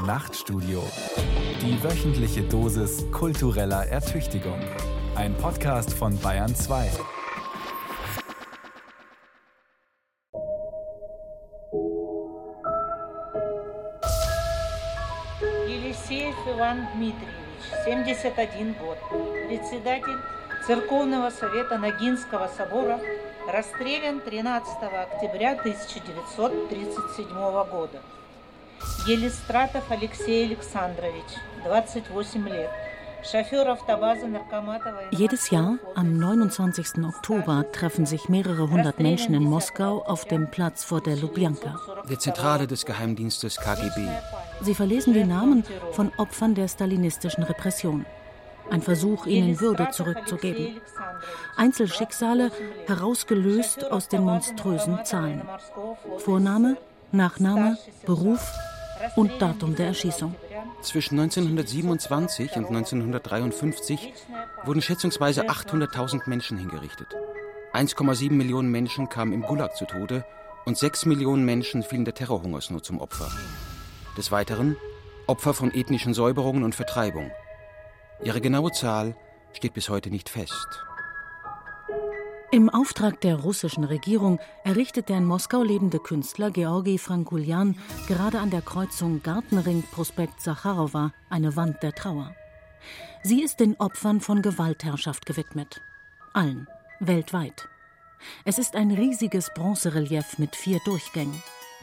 Nachtstudio. Die wöchentliche Dosis kultureller Ertüchtigung. Ein Podcast von Bayern 2. Елисеев Иван Дмитриевич, 71 год, председатель Церковного совета Ногинского собора, расстрелян 13 октября 1937 года. Елистратов Алексей Александрович, 28 лет, Chauffeur автобазы Наркоматова. Jedes Jahr, am 29. Oktober, treffen sich mehrere hundert Menschen in Moskau auf dem Platz vor der Lubjanka. Der Zentrale des Geheimdienstes KGB. Sie verlesen die Namen von Opfern der stalinistischen Repression. Ein Versuch, ihnen Würde zurückzugeben. Einzelschicksale herausgelöst aus den monströsen Zahlen. Vorname, Nachname, Beruf und Datum der Erschießung. Zwischen 1927 und 1953 wurden schätzungsweise 800.000 Menschen hingerichtet. 1,7 Millionen Menschen kamen im Gulag zu Tode und 6 Millionen Menschen fielen der Terrorhungersnot zum Opfer. Des Weiteren Opfer von ethnischen Säuberungen und Vertreibung. Ihre genaue Zahl steht bis heute nicht fest. Im Auftrag der russischen Regierung errichtet der in Moskau lebende Künstler Georgi Frankuljan gerade an der Kreuzung Gartenring-Prospekt Sacharowa eine Wand der Trauer. Sie ist den Opfern von Gewaltherrschaft gewidmet. Allen, weltweit. Es ist ein riesiges Bronzerelief mit 4 Durchgängen.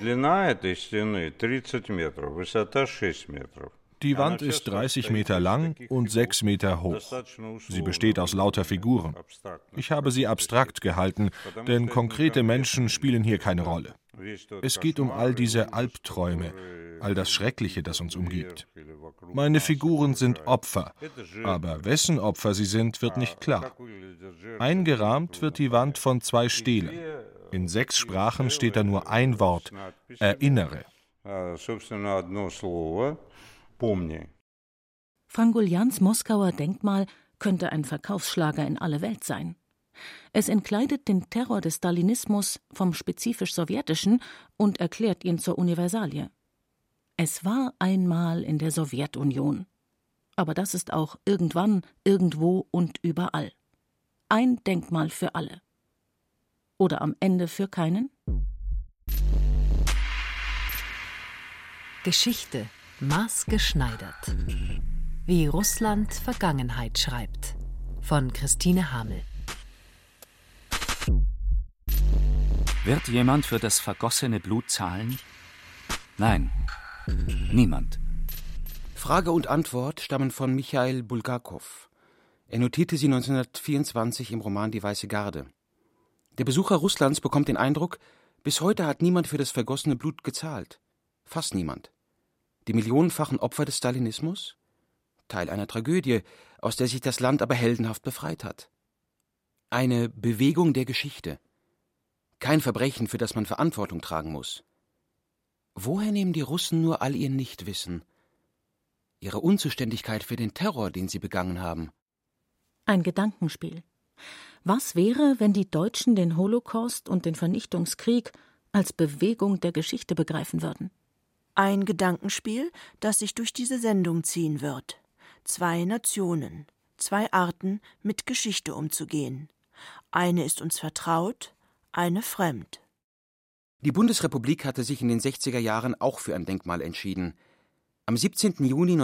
Die Wand ist 30 Meter lang und 6 Meter hoch. Sie besteht aus lauter Figuren. Ich habe sie abstrakt gehalten, denn konkrete Menschen spielen hier keine Rolle. Es geht um all diese Albträume, all das Schreckliche, das uns umgibt. Meine Figuren sind Opfer, aber wessen Opfer sie sind, wird nicht klar. Eingerahmt wird die Wand von 2 Stelen. In 6 Sprachen steht da nur ein Wort: Erinnere. Frankuljans Moskauer Denkmal könnte ein Verkaufsschlager in alle Welt sein. Es entkleidet den Terror des Stalinismus vom spezifisch sowjetischen und erklärt ihn zur Universalie. Es war einmal in der Sowjetunion. Aber das ist auch irgendwann, irgendwo und überall. Ein Denkmal für alle. Oder am Ende für keinen? Geschichte maßgeschneidert. Wie Russland Vergangenheit schreibt. Von Christine Hamel. Wird jemand für das vergossene Blut zahlen? Nein, niemand. Frage und Antwort stammen von Michail Bulgakow. Er notierte sie 1924 im Roman Die Weiße Garde. Der Besucher Russlands bekommt den Eindruck, bis heute hat niemand für das vergossene Blut gezahlt. Fast niemand. Die millionenfachen Opfer des Stalinismus? Teil einer Tragödie, aus der sich das Land aber heldenhaft befreit hat. Eine Bewegung der Geschichte. Kein Verbrechen, für das man Verantwortung tragen muss. Woher nehmen die Russen nur all ihr Nichtwissen? Ihre Unzuständigkeit für den Terror, den sie begangen haben? Ein Gedankenspiel. Was wäre, wenn die Deutschen den Holocaust und den Vernichtungskrieg als Bewegung der Geschichte begreifen würden? Ein Gedankenspiel, das sich durch diese Sendung ziehen wird. 2 Nationen, 2 Arten, mit Geschichte umzugehen. Eine ist uns vertraut, eine fremd. Die Bundesrepublik hatte sich in den 60er Jahren auch für ein Denkmal entschieden. Am 17. Juni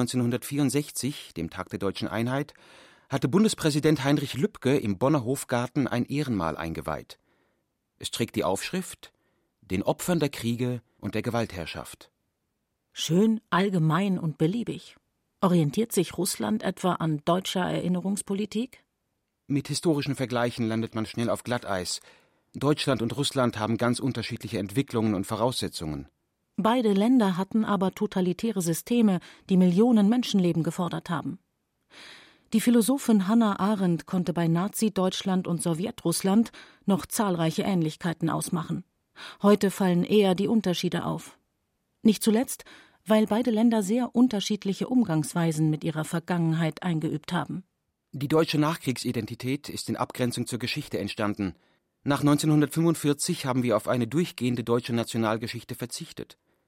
1964, dem Tag der Deutschen Einheit, hatte Bundespräsident Heinrich Lübke im Bonner Hofgarten ein Ehrenmal eingeweiht. Es trägt die Aufschrift: Den Opfern der Kriege und der Gewaltherrschaft. Schön, allgemein und beliebig. Orientiert sich Russland etwa an deutscher Erinnerungspolitik? Mit historischen Vergleichen landet man schnell auf Glatteis. Deutschland und Russland haben ganz unterschiedliche Entwicklungen und Voraussetzungen. Beide Länder hatten aber totalitäre Systeme, die Millionen Menschenleben gefordert haben. Die Philosophin Hannah Arendt konnte bei Nazi-Deutschland und Sowjetrussland noch zahlreiche Ähnlichkeiten ausmachen. Heute fallen eher die Unterschiede auf. Nicht zuletzt, weil beide Länder sehr unterschiedliche Umgangsweisen mit ihrer Vergangenheit eingeübt haben. Die deutsche Nachkriegsidentität ist in Abgrenzung zur Geschichte entstanden. Nach 1945 haben wir auf eine durchgehende deutsche Nationalgeschichte verzichtet.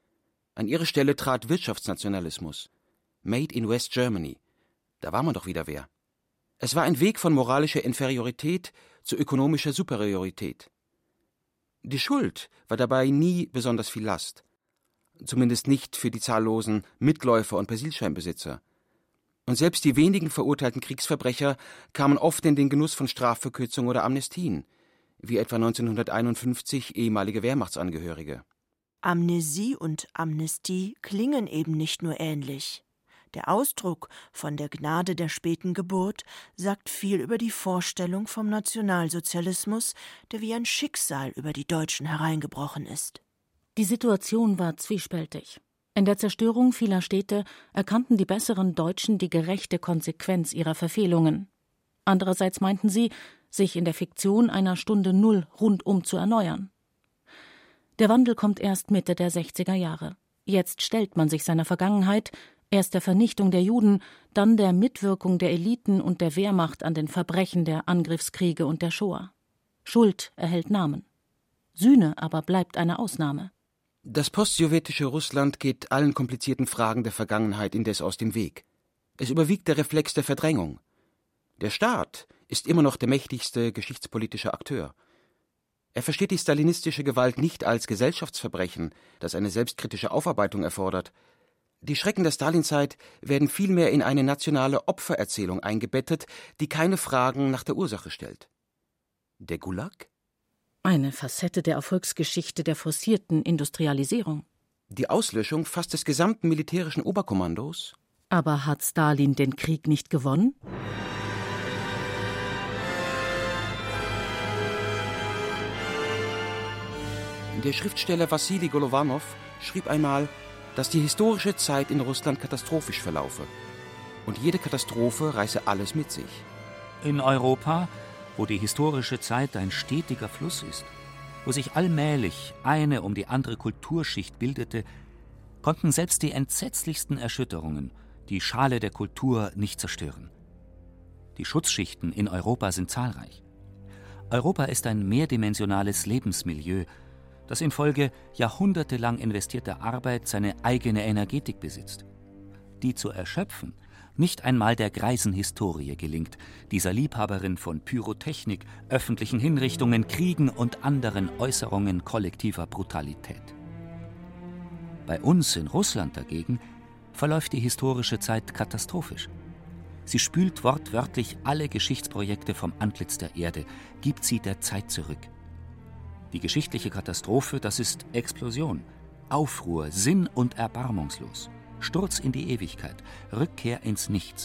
An ihre Stelle trat Wirtschaftsnationalismus. Made in West Germany. Da war man doch wieder wer. Es war ein Weg von moralischer Inferiorität zu ökonomischer Superiorität. Die Schuld war dabei nie besonders viel Last. Zumindest nicht für die zahllosen Mitläufer und Persilscheinbesitzer. Und selbst die wenigen verurteilten Kriegsverbrecher kamen oft in den Genuss von Strafverkürzung oder Amnestien, wie etwa 1951 ehemalige Wehrmachtsangehörige. Amnesie und Amnestie klingen eben nicht nur ähnlich. Der Ausdruck von der Gnade der späten Geburt sagt viel über die Vorstellung vom Nationalsozialismus, der wie ein Schicksal über die Deutschen hereingebrochen ist. Die Situation war zwiespältig. In der Zerstörung vieler Städte erkannten die besseren Deutschen die gerechte Konsequenz ihrer Verfehlungen. Andererseits meinten sie, sich in der Fiktion einer Stunde Null rundum zu erneuern. Der Wandel kommt erst Mitte der 60er Jahre. Jetzt stellt man sich seiner Vergangenheit, erst der Vernichtung der Juden, dann der Mitwirkung der Eliten und der Wehrmacht an den Verbrechen der Angriffskriege und der Shoah. Schuld erhält Namen. Sühne aber bleibt eine Ausnahme. Das postsowjetische Russland geht allen komplizierten Fragen der Vergangenheit indes aus dem Weg. Es überwiegt der Reflex der Verdrängung. Der Staat ist immer noch der mächtigste geschichtspolitische Akteur. Er versteht die stalinistische Gewalt nicht als Gesellschaftsverbrechen, das eine selbstkritische Aufarbeitung erfordert. Die Schrecken der Stalinzeit werden vielmehr in eine nationale Opfererzählung eingebettet, die keine Fragen nach der Ursache stellt. Der Gulag? Eine Facette der Erfolgsgeschichte der forcierten Industrialisierung. Die Auslöschung fast des gesamten militärischen Oberkommandos? Aber hat Stalin den Krieg nicht gewonnen? Der Schriftsteller Wassili Golovanov schrieb einmal, dass die historische Zeit in Russland katastrophisch verlaufe. Und jede Katastrophe reiße alles mit sich. In Europa, wo die historische Zeit ein stetiger Fluss ist, wo sich allmählich eine um die andere Kulturschicht bildete, konnten selbst die entsetzlichsten Erschütterungen die Schale der Kultur nicht zerstören. Die Schutzschichten in Europa sind zahlreich. Europa ist ein mehrdimensionales Lebensmilieu, das infolge jahrhundertelang investierter Arbeit seine eigene Energetik besitzt. Die zu erschöpfen nicht einmal der greisen Historie gelingt, dieser Liebhaberin von Pyrotechnik, öffentlichen Hinrichtungen, Kriegen und anderen Äußerungen kollektiver Brutalität. Bei uns in Russland dagegen verläuft die historische Zeit katastrophisch. Sie spült wortwörtlich alle Geschichtsprojekte vom Antlitz der Erde, gibt sie der Zeit zurück. Die geschichtliche Katastrophe, das ist Explosion, Aufruhr, sinn- und erbarmungslos, Sturz in die Ewigkeit, Rückkehr ins Nichts.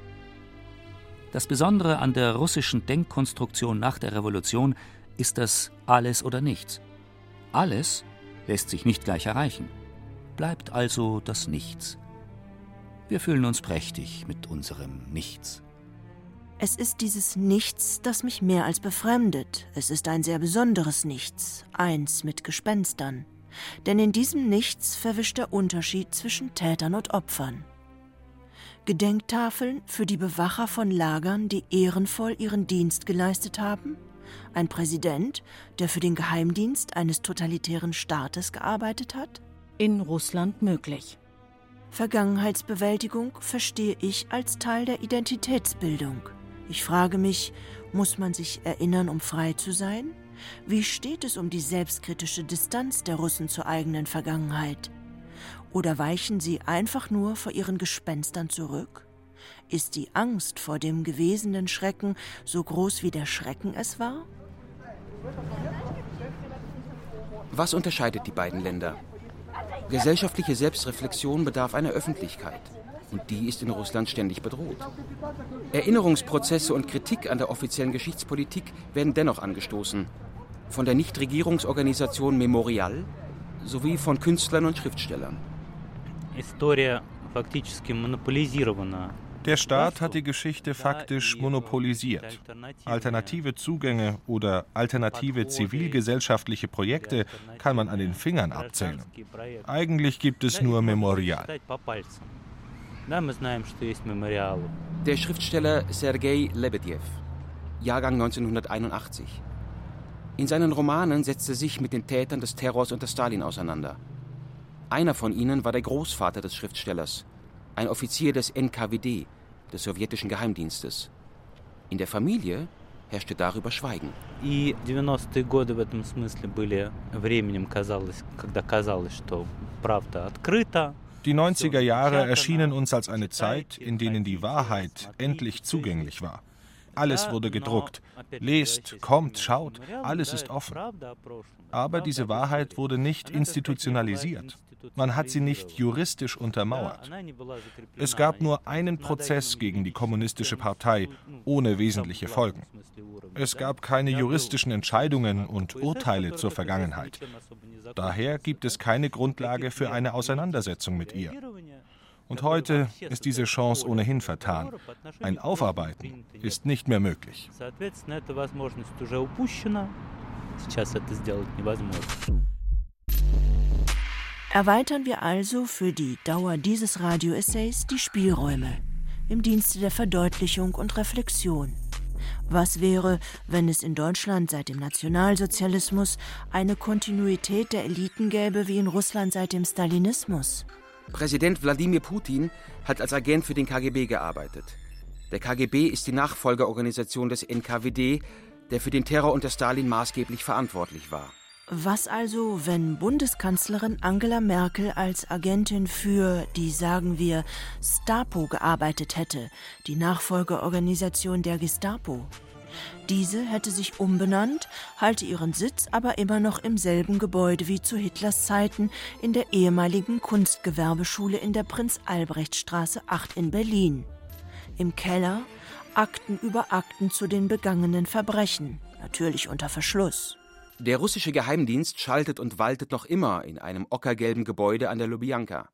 Das Besondere an der russischen Denkkonstruktion nach der Revolution ist das Alles oder Nichts. Alles lässt sich nicht gleich erreichen, bleibt also das Nichts. Wir fühlen uns prächtig mit unserem Nichts. Es ist dieses Nichts, das mich mehr als befremdet. Es ist ein sehr besonderes Nichts, eins mit Gespenstern. Denn in diesem Nichts verwischt der Unterschied zwischen Tätern und Opfern. Gedenktafeln für die Bewacher von Lagern, die ehrenvoll ihren Dienst geleistet haben? Ein Präsident, der für den Geheimdienst eines totalitären Staates gearbeitet hat? In Russland möglich. Vergangenheitsbewältigung verstehe ich als Teil der Identitätsbildung. Ich frage mich, muss man sich erinnern, um frei zu sein? Wie steht es um die selbstkritische Distanz der Russen zur eigenen Vergangenheit? Oder weichen sie einfach nur vor ihren Gespenstern zurück? Ist die Angst vor dem gewesenen Schrecken so groß wie der Schrecken es war? Was unterscheidet die beiden Länder? Gesellschaftliche Selbstreflexion bedarf einer Öffentlichkeit. Und die ist in Russland ständig bedroht. Erinnerungsprozesse und Kritik an der offiziellen Geschichtspolitik werden dennoch angestoßen. Von der Nichtregierungsorganisation Memorial sowie von Künstlern und Schriftstellern. Der Staat hat die Geschichte faktisch monopolisiert. Alternative Zugänge oder alternative zivilgesellschaftliche Projekte kann man an den Fingern abzählen. Eigentlich gibt es nur Memorial. Der Schriftsteller Sergei Lebedew, Jahrgang 1981. In seinen Romanen setzt er sich mit den Tätern des Terrors unter Stalin auseinander. Einer von ihnen war der Großvater des Schriftstellers, ein Offizier des NKWD, des sowjetischen Geheimdienstes. In der Familie herrschte darüber Schweigen. Die 90-е годы в этом смысле были временем, когда казалось, что правда открыта. Die 90er Jahre erschienen uns als eine Zeit, in denen die Wahrheit endlich zugänglich war. Alles wurde gedruckt. Lest, kommt, schaut, alles ist offen. Aber diese Wahrheit wurde nicht institutionalisiert. Man hat sie nicht juristisch untermauert. Es gab nur einen Prozess gegen die Kommunistische Partei, ohne wesentliche Folgen. Es gab keine juristischen Entscheidungen und Urteile zur Vergangenheit. Daher gibt es keine Grundlage für eine Auseinandersetzung mit ihr. Und heute ist diese Chance ohnehin vertan. Ein Aufarbeiten ist nicht mehr möglich. Erweitern wir also für die Dauer dieses Radio-Essays die Spielräume im Dienste der Verdeutlichung und Reflexion. Was wäre, wenn es in Deutschland seit dem Nationalsozialismus eine Kontinuität der Eliten gäbe wie in Russland seit dem Stalinismus? Präsident Wladimir Putin hat als Agent für den KGB gearbeitet. Der KGB ist die Nachfolgeorganisation des NKWD, der für den Terror unter Stalin maßgeblich verantwortlich war. Was also, wenn Bundeskanzlerin Angela Merkel als Agentin für die, sagen wir, Stapo gearbeitet hätte, die Nachfolgeorganisation der Gestapo? Diese hätte sich umbenannt, halte ihren Sitz aber immer noch im selben Gebäude wie zu Hitlers Zeiten in der ehemaligen Kunstgewerbeschule in der Prinz-Albrecht-Straße 8 in Berlin. Im Keller Akten über Akten zu den begangenen Verbrechen, natürlich unter Verschluss. Der russische Geheimdienst schaltet und waltet noch immer in einem ockergelben Gebäude an der Lubjanka.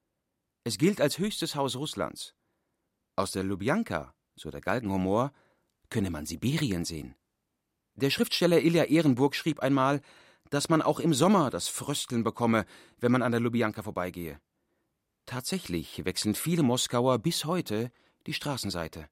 Es gilt als höchstes Haus Russlands. Aus der Lubjanka, so der Galgenhumor, könne man Sibirien sehen. Der Schriftsteller Ilja Ehrenburg schrieb einmal, dass man auch im Sommer das Frösteln bekomme, wenn man an der Lubjanka vorbeigehe. Tatsächlich wechseln viele Moskauer bis heute die Straßenseite.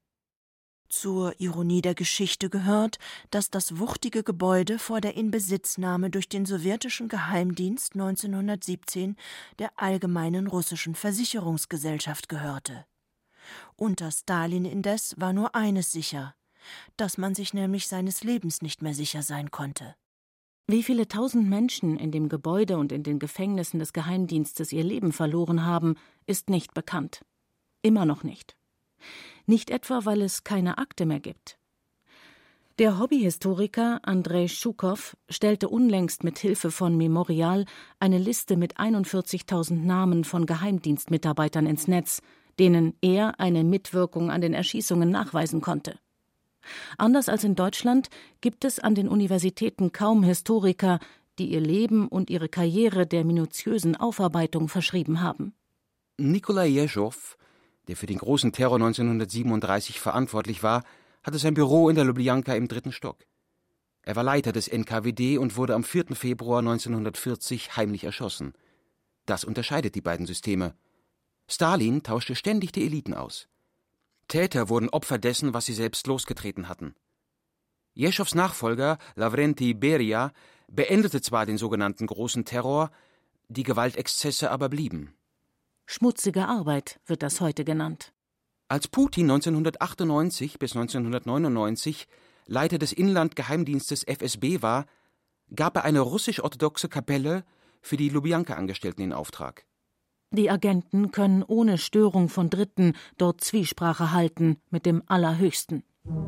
Zur Ironie der Geschichte gehört, dass das wuchtige Gebäude vor der Inbesitznahme durch den sowjetischen Geheimdienst 1917 der Allgemeinen Russischen Versicherungsgesellschaft gehörte. Unter Stalin indes war nur eines sicher, dass man sich nämlich seines Lebens nicht mehr sicher sein konnte. Wie viele tausend Menschen in dem Gebäude und in den Gefängnissen des Geheimdienstes ihr Leben verloren haben, ist nicht bekannt. Immer noch nicht. Nicht etwa, weil es keine Akte mehr gibt. Der Hobbyhistoriker Andrei Schukow stellte unlängst mit Hilfe von Memorial eine Liste mit 41.000 Namen von Geheimdienstmitarbeitern ins Netz, denen er eine Mitwirkung an den Erschießungen nachweisen konnte. Anders als in Deutschland gibt es an den Universitäten kaum Historiker, die ihr Leben und ihre Karriere der minutiösen Aufarbeitung verschrieben haben. Nikolai Jeschow, der für den großen Terror 1937 verantwortlich war, hatte sein Büro in der Lubjanka im 3. Stock. Er war Leiter des NKWD und wurde am 4. Februar 1940 heimlich erschossen. Das unterscheidet die beiden Systeme. Stalin tauschte ständig die Eliten aus. Täter wurden Opfer dessen, was sie selbst losgetreten hatten. Jeschows Nachfolger, Lavrenti Beria, beendete zwar den sogenannten Großen Terror, die Gewaltexzesse aber blieben. Schmutzige Arbeit wird das heute genannt. Als Putin 1998 bis 1999 Leiter des Inlandgeheimdienstes FSB war, gab er eine russisch-orthodoxe Kapelle für die Lubjanka-Angestellten in Auftrag. Die Agenten können ohne Störung von Dritten dort Zwiesprache halten mit dem Allerhöchsten.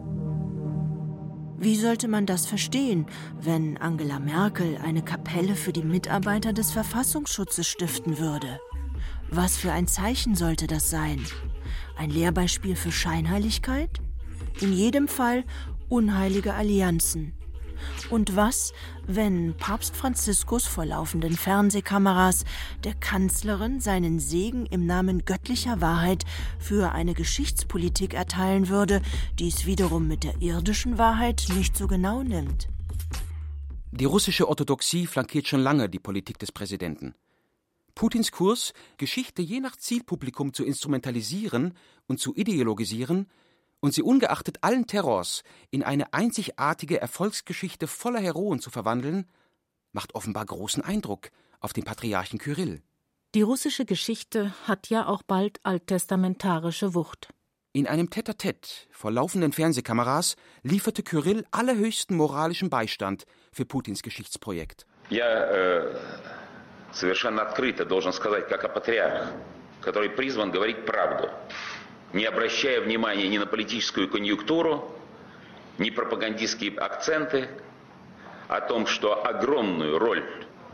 Wie sollte man das verstehen, wenn Angela Merkel eine Kapelle für die Mitarbeiter des Verfassungsschutzes stiften würde? Was für ein Zeichen sollte das sein? Ein Lehrbeispiel für Scheinheiligkeit? In jedem Fall unheilige Allianzen. Und was, wenn Papst Franziskus vor laufenden Fernsehkameras der Kanzlerin seinen Segen im Namen göttlicher Wahrheit für eine Geschichtspolitik erteilen würde, die es wiederum mit der irdischen Wahrheit nicht so genau nimmt? Die russische Orthodoxie flankiert schon lange die Politik des Präsidenten. Putins Kurs, Geschichte je nach Zielpublikum zu instrumentalisieren und zu ideologisieren und sie ungeachtet allen Terrors in eine einzigartige Erfolgsgeschichte voller Heroen zu verwandeln, macht offenbar großen Eindruck auf den Patriarchen Kyrill. Die russische Geschichte hat ja auch bald alttestamentarische Wucht. In einem Tête-à-Tête vor laufenden Fernsehkameras lieferte Kyrill allerhöchsten moralischen Beistand für Putins Geschichtsprojekt. Я совершенно открыто должен сказать, как о патриарх, который призван говорить правду, не обращая внимания ни на политическую конъюнктуру, ни пропагандистские акценты, о том, что огромную роль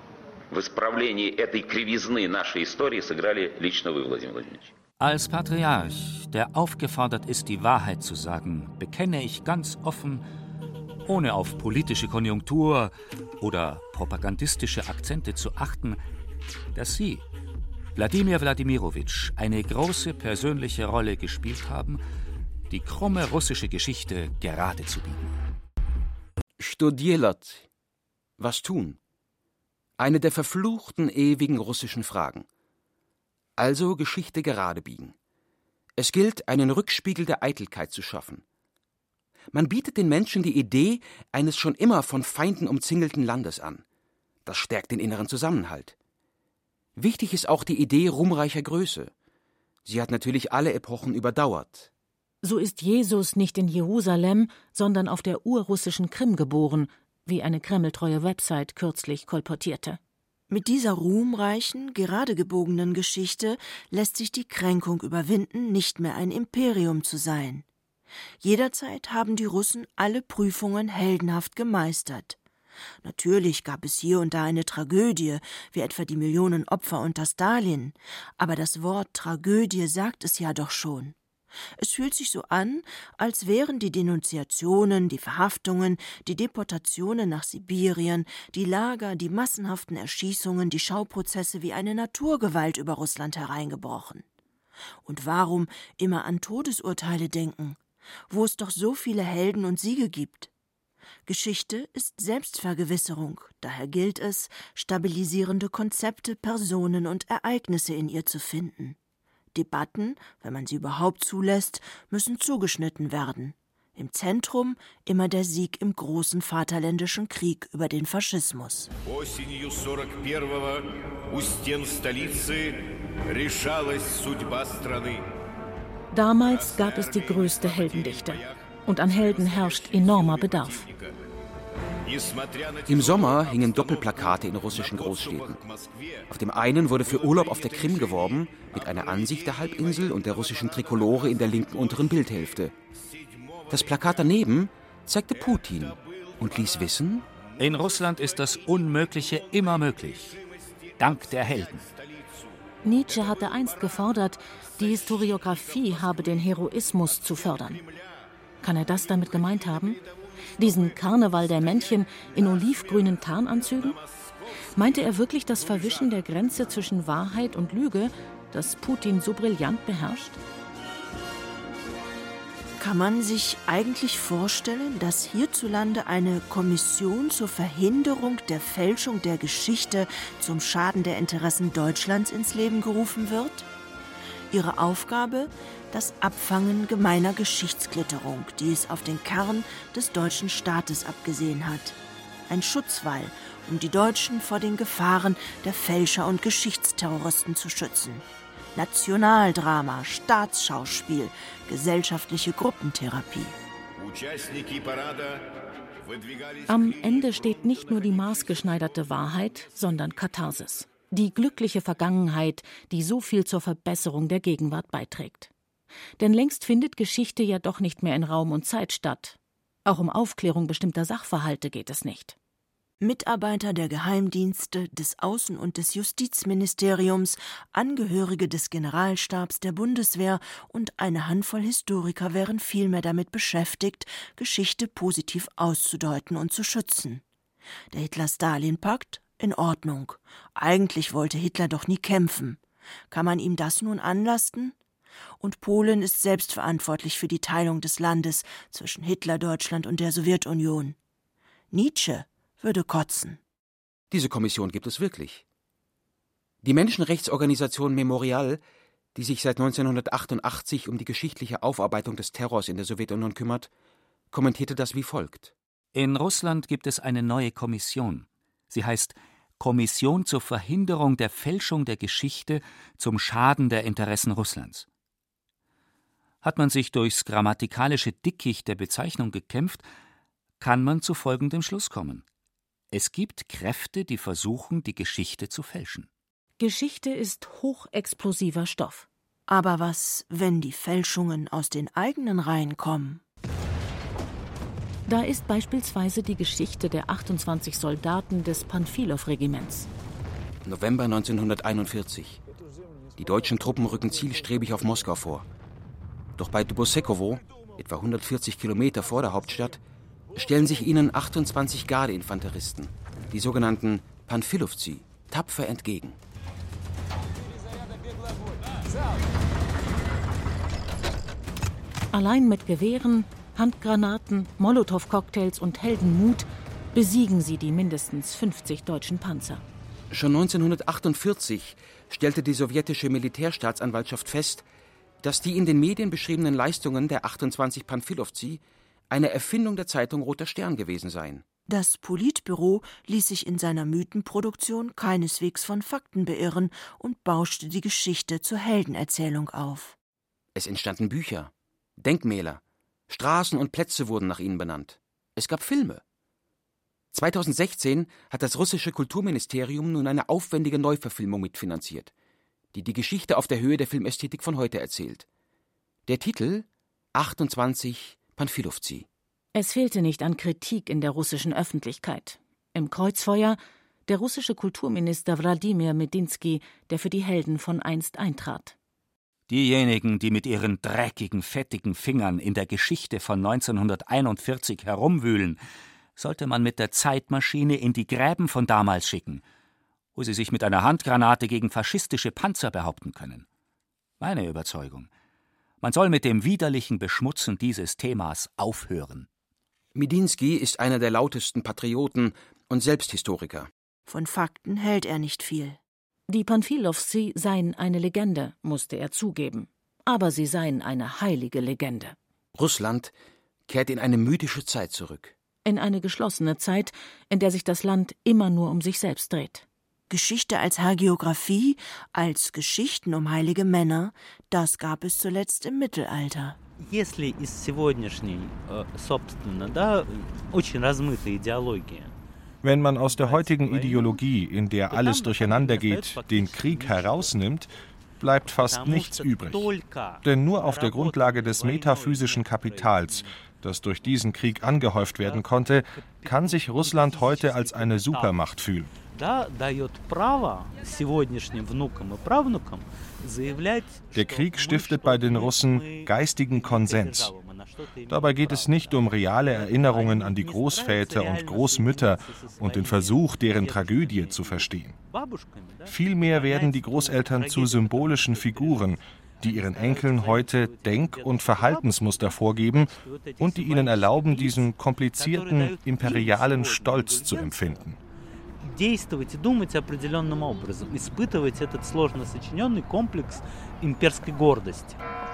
в исправлении этой кривизны нашей истории сыграли лично вы, Владимир Владимирович. Als Patriarch, der aufgefordert ist, die Wahrheit zu sagen, bekenne ich ganz offen, ohne auf politische Konjunktur oder propagandistische Akzente zu achten, dass Sie, Wladimir Wladimirowitsch, eine große persönliche Rolle gespielt haben, die krumme russische Geschichte gerade zu biegen. Что делать? Was tun? Eine der verfluchten, ewigen russischen Fragen. Also Geschichte gerade biegen. Es gilt, einen Rückspiegel der Eitelkeit zu schaffen. Man bietet den Menschen die Idee eines schon immer von Feinden umzingelten Landes an. Das stärkt den inneren Zusammenhalt. Wichtig ist auch die Idee ruhmreicher Größe. Sie hat natürlich alle Epochen überdauert. So ist Jesus nicht in Jerusalem, sondern auf der urrussischen Krim geboren, wie eine kremltreue Website kürzlich kolportierte. Mit dieser ruhmreichen, gerade gebogenen Geschichte lässt sich die Kränkung überwinden, nicht mehr ein Imperium zu sein. Jederzeit haben die Russen alle Prüfungen heldenhaft gemeistert. Natürlich gab es hier und da eine Tragödie, wie etwa die Millionen Opfer unter Stalin, aber das Wort Tragödie sagt es ja doch schon. Es fühlt sich so an, als wären die Denunziationen, die Verhaftungen, die Deportationen nach Sibirien, die Lager, die massenhaften Erschießungen, die Schauprozesse wie eine Naturgewalt über Russland hereingebrochen. Und warum immer an Todesurteile denken, wo es doch so viele Helden und Siege gibt? Geschichte ist Selbstvergewisserung, daher gilt es, stabilisierende Konzepte, Personen und Ereignisse in ihr zu finden. Debatten, wenn man sie überhaupt zulässt, müssen zugeschnitten werden. Im Zentrum immer der Sieg im großen Vaterländischen Krieg über den Faschismus. Осенью 41-го у стен столицы решалась судьба страны. Damals gab es die größte Heldendichte. Und an Helden herrscht enormer Bedarf. Im Sommer hingen Doppelplakate in russischen Großstädten. Auf dem einen wurde für Urlaub auf der Krim geworben, mit einer Ansicht der Halbinsel und der russischen Trikolore in der linken unteren Bildhälfte. Das Plakat daneben zeigte Putin und ließ wissen: In Russland ist das Unmögliche immer möglich. Dank der Helden. Nietzsche hatte einst gefordert, die Historiographie habe den Heroismus zu fördern. Kann er das damit gemeint haben? Diesen Karneval der Männchen in olivgrünen Tarnanzügen? Meinte er wirklich das Verwischen der Grenze zwischen Wahrheit und Lüge, das Putin so brillant beherrscht? Kann man sich eigentlich vorstellen, dass hierzulande eine Kommission zur Verhinderung der Fälschung der Geschichte zum Schaden der Interessen Deutschlands ins Leben gerufen wird? Ihre Aufgabe: das Abfangen gemeiner Geschichtsklitterung, die es auf den Kern des deutschen Staates abgesehen hat. Ein Schutzwall, um die Deutschen vor den Gefahren der Fälscher und Geschichtsterroristen zu schützen. Nationaldrama, Staatsschauspiel, gesellschaftliche Gruppentherapie. Am Ende steht nicht nur die maßgeschneiderte Wahrheit, sondern Katharsis. Die glückliche Vergangenheit, die so viel zur Verbesserung der Gegenwart beiträgt. Denn längst findet Geschichte ja doch nicht mehr in Raum und Zeit statt. Auch um Aufklärung bestimmter Sachverhalte geht es nicht. Mitarbeiter der Geheimdienste, des Außen- und des Justizministeriums, Angehörige des Generalstabs der Bundeswehr und eine Handvoll Historiker wären vielmehr damit beschäftigt, Geschichte positiv auszudeuten und zu schützen. Der Hitler-Stalin-Pakt? In Ordnung. Eigentlich wollte Hitler doch nie kämpfen. Kann man ihm das nun anlasten? Und Polen ist selbst verantwortlich für die Teilung des Landes zwischen Hitler-Deutschland und der Sowjetunion. Nietzsche würde kotzen. Diese Kommission gibt es wirklich. Die Menschenrechtsorganisation Memorial, die sich seit 1988 um die geschichtliche Aufarbeitung des Terrors in der Sowjetunion kümmert, kommentierte das wie folgt: In Russland gibt es eine neue Kommission. Sie heißt Kommission zur Verhinderung der Fälschung der Geschichte zum Schaden der Interessen Russlands. Hat man sich durchs grammatikalische Dickicht der Bezeichnung gekämpft, kann man zu folgendem Schluss kommen: Es gibt Kräfte, die versuchen, die Geschichte zu fälschen. Geschichte ist hochexplosiver Stoff. Aber was, wenn die Fälschungen aus den eigenen Reihen kommen? Da ist beispielsweise die Geschichte der 28 Soldaten des Panfilow-Regiments. November 1941. Die deutschen Truppen rücken zielstrebig auf Moskau vor. Doch bei Dubosekowo, etwa 140 Kilometer vor der Hauptstadt, stellen sich ihnen 28 Gardeinfanteristen, die sogenannten Panfilowci, tapfer entgegen. Allein mit Gewehren, Handgranaten, Molotow-Cocktails und Heldenmut besiegen sie die mindestens 50 deutschen Panzer. Schon 1948 stellte die sowjetische Militärstaatsanwaltschaft fest, dass die in den Medien beschriebenen Leistungen der 28 Panfilowci eine Erfindung der Zeitung Roter Stern gewesen seien. Das Politbüro ließ sich in seiner Mythenproduktion keineswegs von Fakten beirren und bauschte die Geschichte zur Heldenerzählung auf. Es entstanden Bücher, Denkmäler, Straßen und Plätze wurden nach ihnen benannt. Es gab Filme. 2016 hat das russische Kulturministerium nun eine aufwendige Neuverfilmung mitfinanziert, die die Geschichte auf der Höhe der Filmästhetik von heute erzählt. Der Titel: 28 Panfilowci. Es fehlte nicht an Kritik in der russischen Öffentlichkeit. Im Kreuzfeuer der russische Kulturminister Wladimir Medinsky, der für die Helden von einst eintrat. Diejenigen, die mit ihren dreckigen, fettigen Fingern in der Geschichte von 1941 herumwühlen, sollte man mit der Zeitmaschine in die Gräben von damals schicken, wo sie sich mit einer Handgranate gegen faschistische Panzer behaupten können. Meine Überzeugung: Man soll mit dem widerlichen Beschmutzen dieses Themas aufhören. Medinsky ist einer der lautesten Patrioten und selbst Historiker. Von Fakten hält er nicht viel. Die Panfilowci seien eine Legende, musste er zugeben. Aber sie seien eine heilige Legende. Russland kehrt in eine mythische Zeit zurück. In eine geschlossene Zeit, in der sich das Land immer nur um sich selbst dreht. Geschichte als Hagiographie, als Geschichten um heilige Männer, das gab es zuletzt im Mittelalter. Если из сегодняшней, собственно, очень размытая идеология. Wenn man aus der heutigen Ideologie, in der alles durcheinandergeht, den Krieg herausnimmt, bleibt fast nichts übrig. Denn nur auf der Grundlage des metaphysischen Kapitals, das durch diesen Krieg angehäuft werden konnte, kann sich Russland heute als eine Supermacht fühlen. Der Krieg stiftet bei den Russen geistigen Konsens. Dabei geht es nicht um reale Erinnerungen an die Großväter und Großmütter und den Versuch, deren Tragödie zu verstehen. Vielmehr werden die Großeltern zu symbolischen Figuren, die ihren Enkeln heute Denk- und Verhaltensmuster vorgeben und die ihnen erlauben, diesen komplizierten imperialen Stolz zu empfinden. Действовать и думать определенным образом, испытывать этот сложно сочиненный комплекс имперской гордости.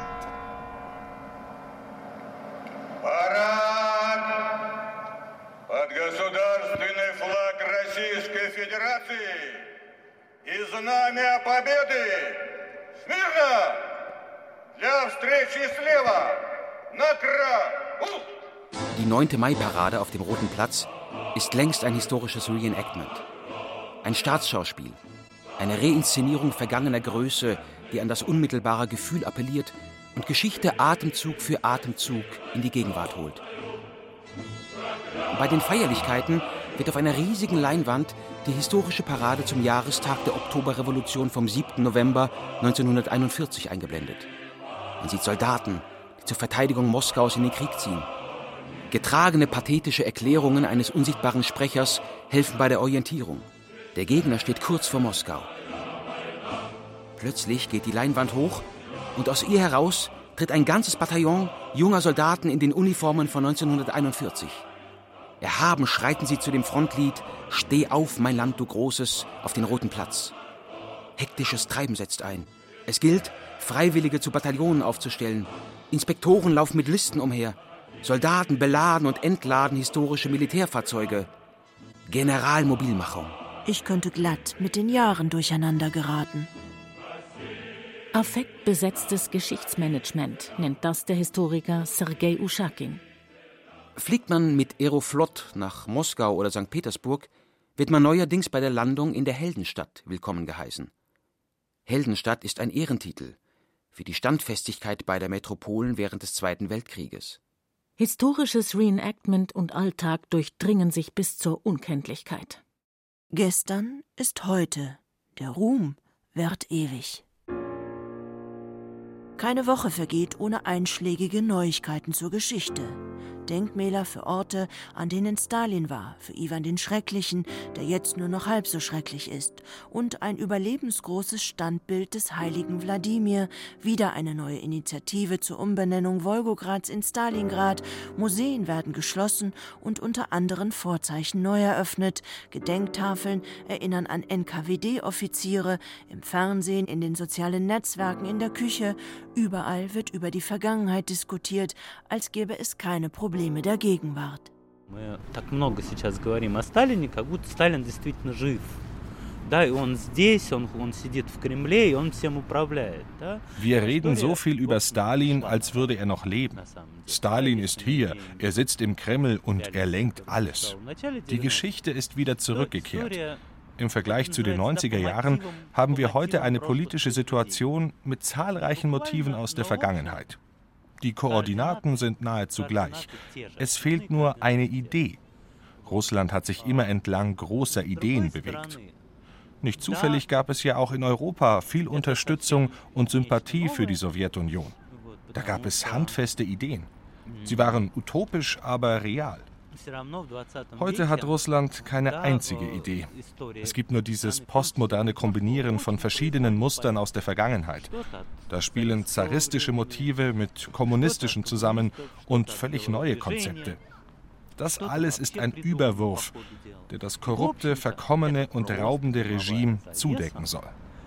Парад! Под государственный флаг Российской Федерации и знамя Победы! Смирно! Для встречи слева! Направо! Die 9. Mai-Parade auf dem Roten Platz ist längst ein historisches Reenactment. Ein Staatsschauspiel, eine Reinszenierung vergangener Größe, die an das unmittelbare Gefühl appelliert und Geschichte Atemzug für Atemzug in die Gegenwart holt. Bei den Feierlichkeiten wird auf einer riesigen Leinwand die historische Parade zum Jahrestag der Oktoberrevolution vom 7. November 1941 eingeblendet. Man sieht Soldaten, die zur Verteidigung Moskaus in den Krieg ziehen. Getragene pathetische Erklärungen eines unsichtbaren Sprechers helfen bei der Orientierung. Der Gegner steht kurz vor Moskau. Plötzlich geht die Leinwand hoch und aus ihr heraus tritt ein ganzes Bataillon junger Soldaten in den Uniformen von 1941. Erhaben schreiten sie zu dem Frontlied »Steh auf, mein Land, du Großes« auf den Roten Platz. Hektisches Treiben setzt ein. Es gilt, Freiwillige zu Bataillonen aufzustellen. Inspektoren laufen mit Listen umher. Soldaten beladen und entladen historische Militärfahrzeuge. Generalmobilmachung. Ich könnte glatt mit den Jahren durcheinander geraten. Affektbesetztes Geschichtsmanagement nennt das der Historiker Sergei Uschakin. Fliegt man mit Aeroflot nach Moskau oder St. Petersburg, wird man neuerdings bei der Landung in der Heldenstadt willkommen geheißen. Heldenstadt ist ein Ehrentitel für die Standfestigkeit beider Metropolen während des Zweiten Weltkrieges. Historisches Reenactment und Alltag durchdringen sich bis zur Unkenntlichkeit. Gestern ist heute, der Ruhm währt ewig. Keine Woche vergeht ohne einschlägige Neuigkeiten zur Geschichte. Denkmäler für Orte, an denen Stalin war, für Iwan den Schrecklichen, der jetzt nur noch halb so schrecklich ist, und ein überlebensgroßes Standbild des heiligen Wladimir, wieder eine neue Initiative zur Umbenennung Wolgograds in Stalingrad, Museen werden geschlossen und unter anderen Vorzeichen neu eröffnet, Gedenktafeln erinnern an NKWD-Offiziere, im Fernsehen, in den sozialen Netzwerken, in der Küche, überall wird über die Vergangenheit diskutiert, als gäbe es keine Probleme der Gegenwart. Мы так много сейчас говорим о Сталине, как будто Сталин действительно жив. Да, и он здесь, он сидит в Кремле, и он всем управляет. Wir reden so viel über Stalin, als würde er noch leben. Stalin ist hier, er sitzt im Kreml und er lenkt alles. Die Geschichte ist wieder zurückgekehrt. Im Vergleich zu den 90er Jahren haben wir heute eine politische Situation mit zahlreichen Motiven aus der Vergangenheit. Die Koordinaten sind nahezu gleich. Es fehlt nur eine Idee. Russland hat sich immer entlang großer Ideen bewegt. Nicht zufällig gab es ja auch in Europa viel Unterstützung und Sympathie für die Sowjetunion. Da gab es handfeste Ideen. Sie waren utopisch, aber real. Heute hat Russland keine einzige Idee. Es gibt nur dieses postmoderne Kombinieren von verschiedenen Mustern aus der Vergangenheit. Da spielen zaristische Motive mit kommunistischen zusammen und völlig neue Konzepte. Das alles ist ein Überwurf, der das korrupte, verkommene und raubende Regime zudecken soll.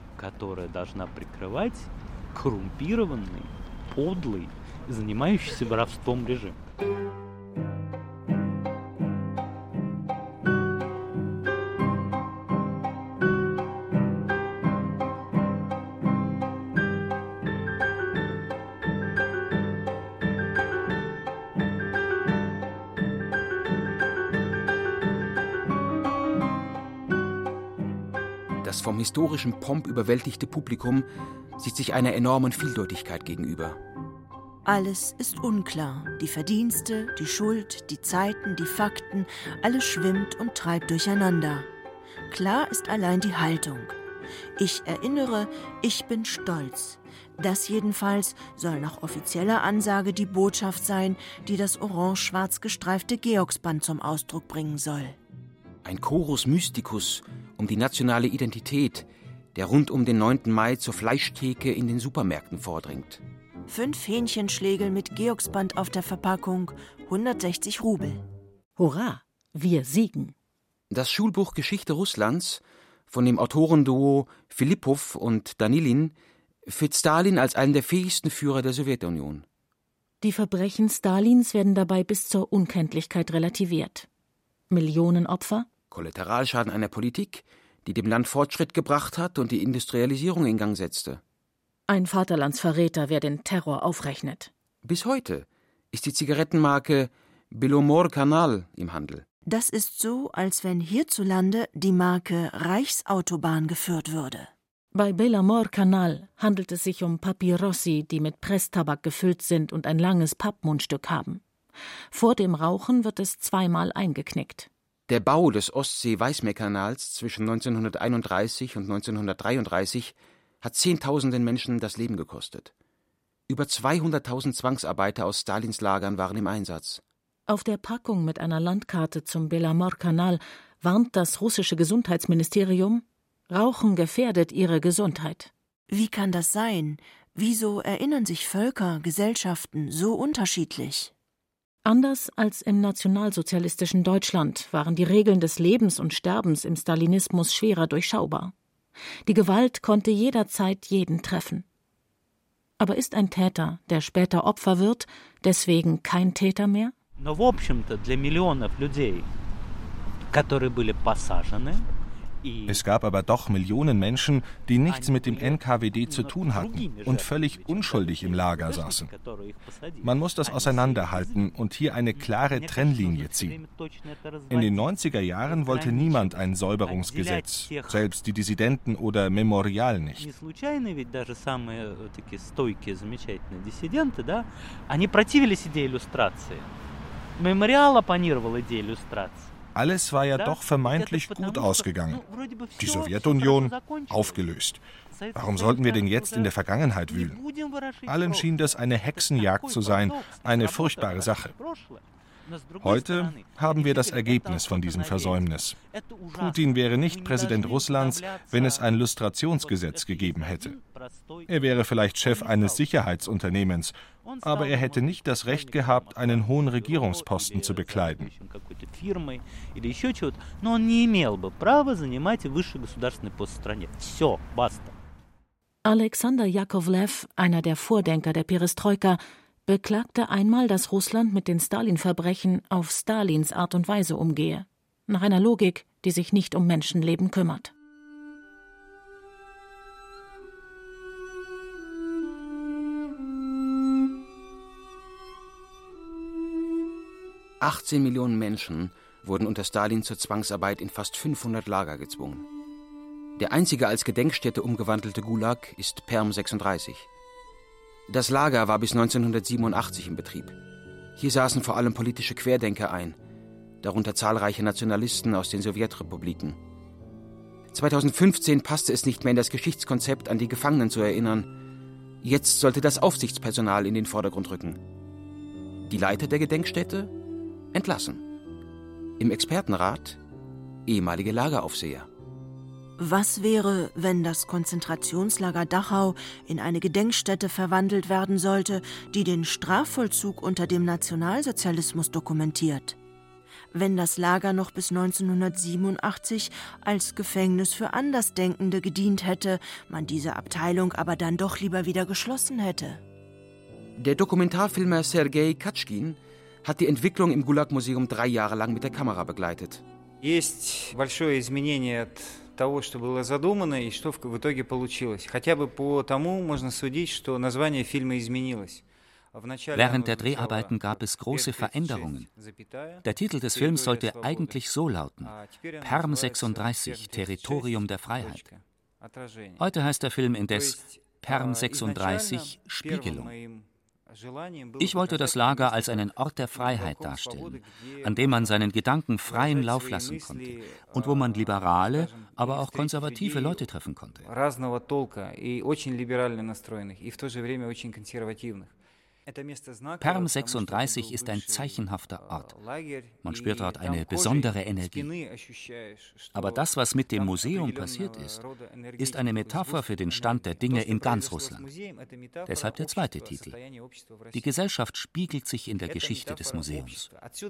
Das vom historischen Pomp überwältigte Publikum sieht sich einer enormen Vieldeutigkeit gegenüber. Alles ist unklar. Die Verdienste, die Schuld, die Zeiten, die Fakten, alles schwimmt und treibt durcheinander. Klar ist allein die Haltung. Ich erinnere, ich bin stolz. Das jedenfalls soll nach offizieller Ansage die Botschaft sein, die das orange-schwarz gestreifte Georgsband zum Ausdruck bringen soll. Ein Chorus Mysticus um die nationale Identität, der rund um den 9. Mai zur Fleischtheke in den Supermärkten vordringt. 5 Hähnchenschlägel mit Georgsband auf der Verpackung, 160 Rubel. Hurra, wir siegen. Das Schulbuch Geschichte Russlands von dem Autorenduo Filipow und Danilin führt Stalin als einen der fähigsten Führer der Sowjetunion. Die Verbrechen Stalins werden dabei bis zur Unkenntlichkeit relativiert. Millionen Opfer? Kollateralschaden einer Politik, die dem Land Fortschritt gebracht hat und die Industrialisierung in Gang setzte. Ein Vaterlandsverräter, wer den Terror aufrechnet. Bis heute ist die Zigarettenmarke Belomor-Kanal im Handel. Das ist so, als wenn hierzulande die Marke Reichsautobahn geführt würde. Bei Belomor-Kanal handelt es sich um Papyrossi, die mit Presstabak gefüllt sind und ein langes Pappmundstück haben. Vor dem Rauchen wird es zweimal eingeknickt. Der Bau des Ostsee-Weißmeerkanals zwischen 1931 und 1933 hat Zehntausenden Menschen das Leben gekostet. Über 200.000 Zwangsarbeiter aus Stalins Lagern waren im Einsatz. Auf der Packung mit einer Landkarte zum Belomor-Kanal warnt das russische Gesundheitsministerium: Rauchen gefährdet ihre Gesundheit. Wie kann das sein? Wieso erinnern sich Völker, Gesellschaften so unterschiedlich? Anders als im nationalsozialistischen Deutschland waren die Regeln des Lebens und Sterbens im Stalinismus schwerer durchschaubar. Die Gewalt konnte jederzeit jeden treffen. Aber ist ein Täter, der später Opfer wird, deswegen kein Täter mehr? Но в общем-то для миллионов людей, которые были посажены Es gab aber doch Millionen Menschen, die nichts mit dem NKWD zu tun hatten und völlig unschuldig im Lager saßen. Man muss das auseinanderhalten und hier eine klare Trennlinie ziehen. In den 90er Jahren wollte niemand ein Säuberungsgesetz, selbst die Dissidenten oder Memorial nicht. Alles war ja doch vermeintlich gut ausgegangen. Die Sowjetunion aufgelöst. Warum sollten wir denn jetzt in der Vergangenheit wühlen? Allen schien das eine Hexenjagd zu sein, eine furchtbare Sache. Heute haben wir das Ergebnis von diesem Versäumnis. Putin wäre nicht Präsident Russlands, wenn es ein Lustrationsgesetz gegeben hätte. Er wäre vielleicht Chef eines Sicherheitsunternehmens, aber er hätte nicht das Recht gehabt, einen hohen Regierungsposten zu bekleiden. Alexander Jakovlev, einer der Vordenker der Perestroika, beklagte einmal, dass Russland mit den Stalin-Verbrechen auf Stalins Art und Weise umgehe, nach einer Logik, die sich nicht um Menschenleben kümmert. –18 Millionen Menschen wurden unter Stalin zur Zwangsarbeit in fast 500 Lager gezwungen. Der einzige als Gedenkstätte umgewandelte Gulag ist Perm 36. Das Lager war bis 1987 in Betrieb. Hier saßen vor allem politische Querdenker ein, darunter zahlreiche Nationalisten aus den Sowjetrepubliken. 2015 passte es nicht mehr in das Geschichtskonzept, an die Gefangenen zu erinnern. Jetzt sollte das Aufsichtspersonal in den Vordergrund rücken. Die Leiter der Gedenkstätte entlassen. Im Expertenrat ehemalige Lageraufseher. Was wäre, wenn das Konzentrationslager Dachau in eine Gedenkstätte verwandelt werden sollte, die den Strafvollzug unter dem Nationalsozialismus dokumentiert? Wenn das Lager noch bis 1987 als Gefängnis für Andersdenkende gedient hätte, man diese Abteilung aber dann doch lieber wieder geschlossen hätte? Der Dokumentarfilmer Sergei Katschkin hat die Entwicklung im Gulag-Museum 3 Jahre lang mit der Kamera begleitet. Того, что было задумано и что в итоге получилось. Хотя бы по тому можно судить, что название фильма изменилось. Während der Dreharbeiten gab es große Veränderungen. Der Titel des Films sollte eigentlich so lauten: Perm 36, Territorium der Freiheit. Heute heißt der Film indes Perm 36, Spiegelung. Ich wollte das Lager als einen Ort der Freiheit darstellen, an dem man seinen Gedanken freien Lauf lassen konnte und wo man liberale, aber auch konservative Leute treffen konnte. Perm 36 ist ein zeichenhafter Ort. Man spürt dort eine besondere Energie. Aber das, was mit dem Museum passiert ist eine Metapher für den Stand der Dinge in ganz Russland. Deshalb der zweite Titel. Die Gesellschaft spiegelt sich in der Geschichte des Museums.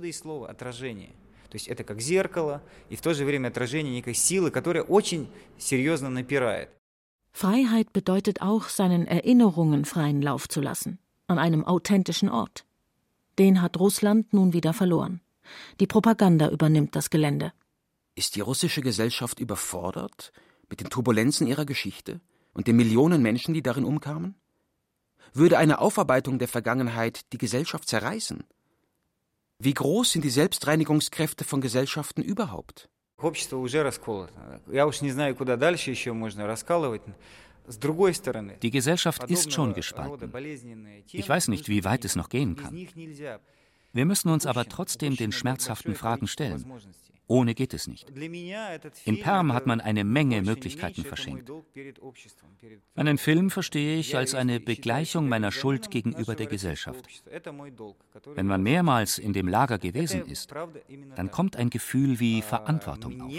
Freiheit bedeutet auch, seinen Erinnerungen freien Lauf zu lassen. An einem authentischen Ort. Den hat Russland nun wieder verloren. Die Propaganda übernimmt das Gelände. Ist die russische Gesellschaft überfordert mit den Turbulenzen ihrer Geschichte und den Millionen Menschen, die darin umkamen? Würde eine Aufarbeitung der Vergangenheit die Gesellschaft zerreißen? Wie groß sind die Selbstreinigungskräfte von Gesellschaften überhaupt? Общество уже расколото. Я уж не знаю, куда дальше еще можно раскалывать. Die Gesellschaft ist schon gespalten. Ich weiß nicht, wie weit es noch gehen kann. Wir müssen uns aber trotzdem den schmerzhaften Fragen stellen. Ohne geht es nicht. In Perm hat man eine Menge Möglichkeiten verschenkt. Einen Film verstehe ich als eine Begleichung meiner Schuld gegenüber der Gesellschaft. Wenn man mehrmals in dem Lager gewesen ist, dann kommt ein Gefühl wie Verantwortung auf.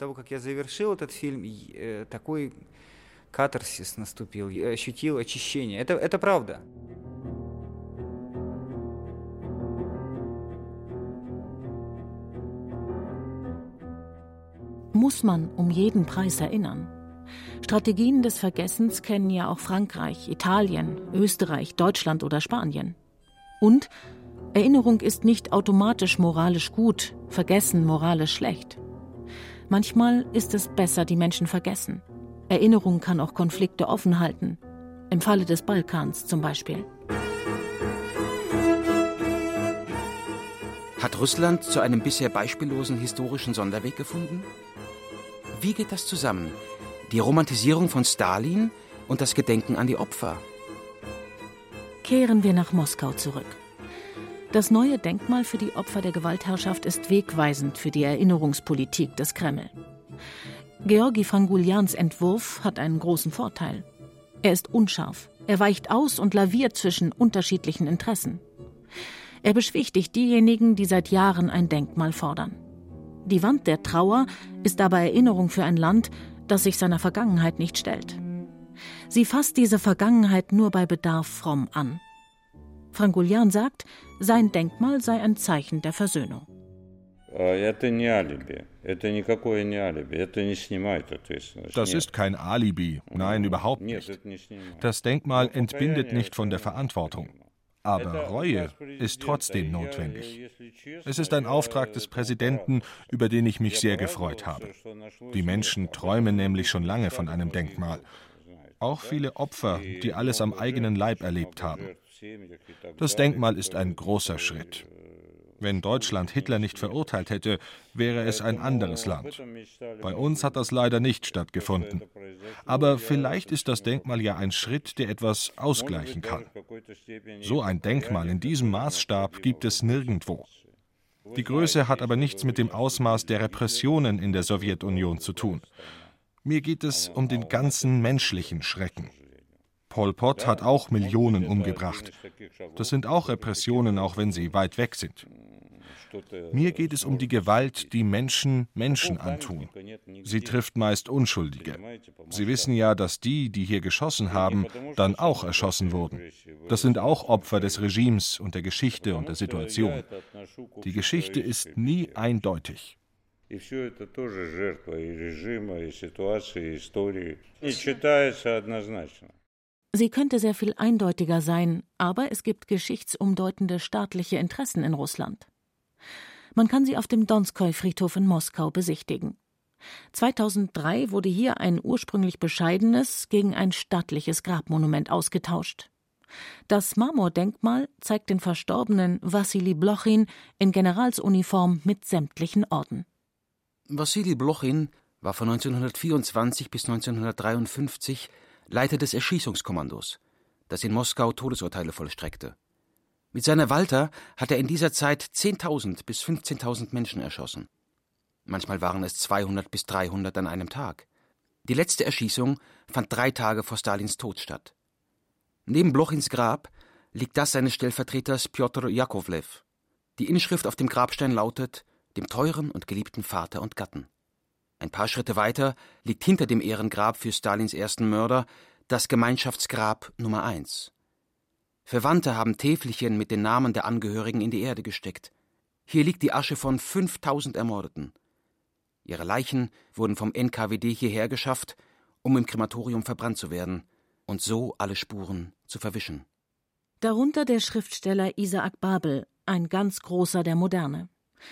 Катарсис наступил, я ощутил очищение. Это правда. Muss man um jeden Preis erinnern? Strategien des Vergessens kennen ja auch Frankreich, Italien, Österreich, Deutschland oder Spanien. Und Erinnerung ist nicht automatisch moralisch gut, Vergessen moralisch schlecht. Manchmal ist es besser, die Menschen vergessen. Erinnerung kann auch Konflikte offen halten. Im Falle des Balkans zum Beispiel. Hat Russland zu einem bisher beispiellosen historischen Sonderweg gefunden? Wie geht das zusammen? Die Romantisierung von Stalin und das Gedenken an die Opfer? Kehren wir nach Moskau zurück. Das neue Denkmal für die Opfer der Gewaltherrschaft ist wegweisend für die Erinnerungspolitik des Kreml. Georgi Franguljans Entwurf hat einen großen Vorteil. Er ist unscharf, er weicht aus und laviert zwischen unterschiedlichen Interessen. Er beschwichtigt diejenigen, die seit Jahren ein Denkmal fordern. Die Wand der Trauer ist aber Erinnerung für ein Land, das sich seiner Vergangenheit nicht stellt. Sie fasst diese Vergangenheit nur bei Bedarf fromm an. Franguljan sagt, sein Denkmal sei ein Zeichen der Versöhnung. Das ist kein Alibi, nein, überhaupt nicht. Das Denkmal entbindet nicht von der Verantwortung. Aber Reue ist trotzdem notwendig. Es ist ein Auftrag des Präsidenten, über den ich mich sehr gefreut habe. Die Menschen träumen nämlich schon lange von einem Denkmal. Auch viele Opfer, die alles am eigenen Leib erlebt haben. Das Denkmal ist ein großer Schritt. Wenn Deutschland Hitler nicht verurteilt hätte, wäre es ein anderes Land. Bei uns hat das leider nicht stattgefunden. Aber vielleicht ist das Denkmal ja ein Schritt, der etwas ausgleichen kann. So ein Denkmal in diesem Maßstab gibt es nirgendwo. Die Größe hat aber nichts mit dem Ausmaß der Repressionen in der Sowjetunion zu tun. Mir geht es um den ganzen menschlichen Schrecken. Pol Pot hat auch Millionen umgebracht. Das sind auch Repressionen, auch wenn sie weit weg sind. Mir geht es um die Gewalt, die Menschen Menschen antun. Sie trifft meist Unschuldige. Sie wissen ja, dass die hier geschossen haben, dann auch erschossen wurden. Das sind auch Opfer des Regimes und der Geschichte und der Situation. Die Geschichte ist nie eindeutig. Sie könnte sehr viel eindeutiger sein, aber es gibt geschichtsumdeutende staatliche Interessen in Russland. Man kann sie auf dem Donskoi-Friedhof in Moskau besichtigen. 2003 wurde hier ein ursprünglich bescheidenes gegen ein stattliches Grabmonument ausgetauscht. Das Marmordenkmal zeigt den verstorbenen Wassili Blochin in Generalsuniform mit sämtlichen Orden. Wassili Blochin war von 1924 bis 1953 Leiter des Erschießungskommandos, das in Moskau Todesurteile vollstreckte. Mit seiner Walter hat er in dieser Zeit 10.000 bis 15.000 Menschen erschossen. Manchmal waren es 200 bis 300 an einem Tag. Die letzte Erschießung fand 3 Tage vor Stalins Tod statt. Neben Blochins Grab liegt das seines Stellvertreters Pjotr Jakovlew. Die Inschrift auf dem Grabstein lautet: dem teuren und geliebten Vater und Gatten. Ein paar Schritte weiter liegt hinter dem Ehrengrab für Stalins ersten Mörder das Gemeinschaftsgrab Nummer 1. Verwandte haben Täfelchen mit den Namen der Angehörigen in die Erde gesteckt. Hier liegt die Asche von 5.000 Ermordeten. Ihre Leichen wurden vom NKWD hierher geschafft, um im Krematorium verbrannt zu werden und so alle Spuren zu verwischen. Darunter der Schriftsteller Isaac Babel, ein ganz großer der Moderne.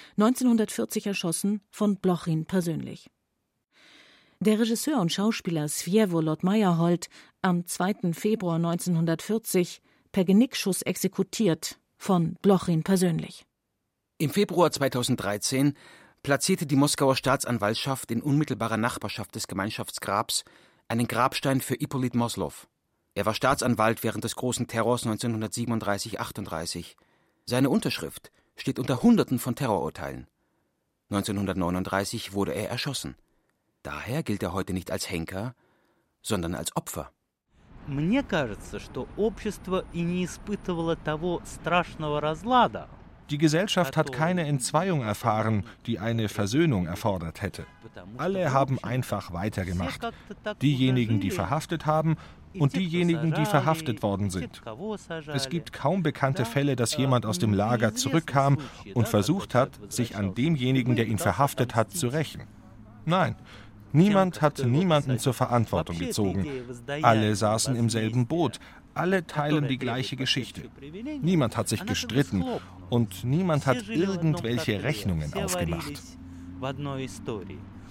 1940 von Blochin persönlich. Der Regisseur und Schauspieler Svjevolod Meyerhold, am 2. Februar 1940 per Genickschuss exekutiert, von Blochin persönlich. Im Februar 2013 platzierte die Moskauer Staatsanwaltschaft in unmittelbarer Nachbarschaft des Gemeinschaftsgrabs einen Grabstein für Ippolit Moslow. Er war Staatsanwalt während des großen Terrors 1937-38. Seine Unterschrift steht unter Hunderten von Terrorurteilen. 1939 wurde er erschossen. Daher gilt er heute nicht als Henker, sondern als Opfer. Мне кажется, что общество и не испытывало того страшного разлада. Die Gesellschaft hat keine Entzweiung erfahren, die eine Versöhnung erfordert hätte. Alle haben einfach weitergemacht. Diejenigen, die verhaftet haben, und diejenigen, die verhaftet worden sind. Es gibt kaum bekannte Fälle, dass jemand aus dem Lager zurückkam und versucht hat, sich an demjenigen, der ihn verhaftet hat, zu rächen. Nein, niemand hat niemanden zur Verantwortung gezogen. Alle saßen im selben Boot. Alle teilen die gleiche Geschichte. Niemand hat sich gestritten und niemand hat irgendwelche Rechnungen aufgemacht.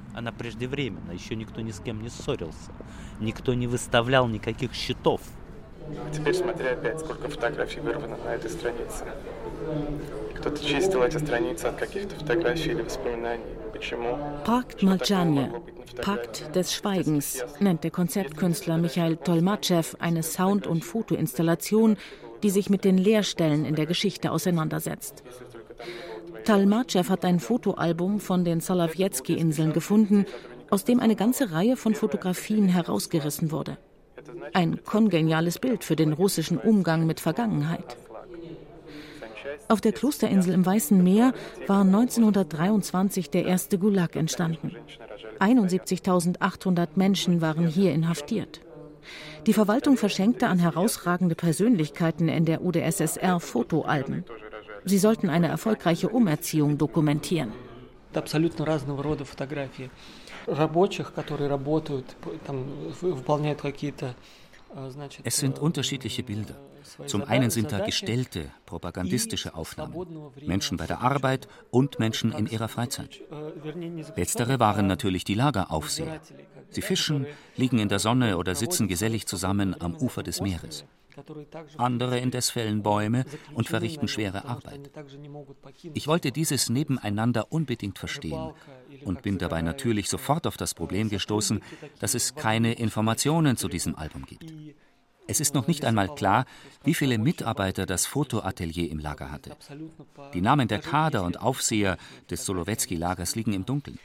Она преждевременна, еще никто ни с кем не ссорился, никто не выставлял никаких счетов. Теперь смотри опять, сколько фотографий вырвано на этой странице. Кто-то чистил эти страницы от каких-то фотографий или воспоминаний. Почему? Pakt Молчания, Pakt des Schweigens, nennt der Konzeptkünstler Michail Tolmatschew eine Sound- und Fotoinstallation, die sich mit den Leerstellen in der Geschichte auseinandersetzt. Tolmatschew hat ein Fotoalbum von den Solowiecki-Inseln gefunden, aus dem eine ganze Reihe von Fotografien herausgerissen wurde. Ein kongeniales Bild für den russischen Umgang mit Vergangenheit. Auf der Klosterinsel im Weißen Meer war 1923 der erste Gulag entstanden. 71.800 Menschen waren hier inhaftiert. Die Verwaltung verschenkte an herausragende Persönlichkeiten in der UdSSR Fotoalben. Sie sollten eine erfolgreiche Umerziehung dokumentieren. Абсолютно разного рода фотографии рабочих, которые работают, там выполняют какие-то. Es sind unterschiedliche Bilder. Zum einen sind da gestellte, propagandistische Aufnahmen. Menschen bei der Arbeit und Menschen in ihrer Freizeit. Letztere waren natürlich die Lageraufseher. Sie fischen, liegen in der Sonne oder sitzen gesellig zusammen am Ufer des Meeres. Andere indes fällen Bäume und verrichten schwere Arbeit. Ich wollte dieses Nebeneinander unbedingt verstehen und bin dabei natürlich sofort auf das Problem gestoßen, dass es keine Informationen zu diesem Album gibt. Es ist noch nicht einmal klar, wie viele Mitarbeiter das Fotoatelier im Lager hatte. Die Namen der Kader und Aufseher des Solowiecki-Lagers liegen im Dunkeln.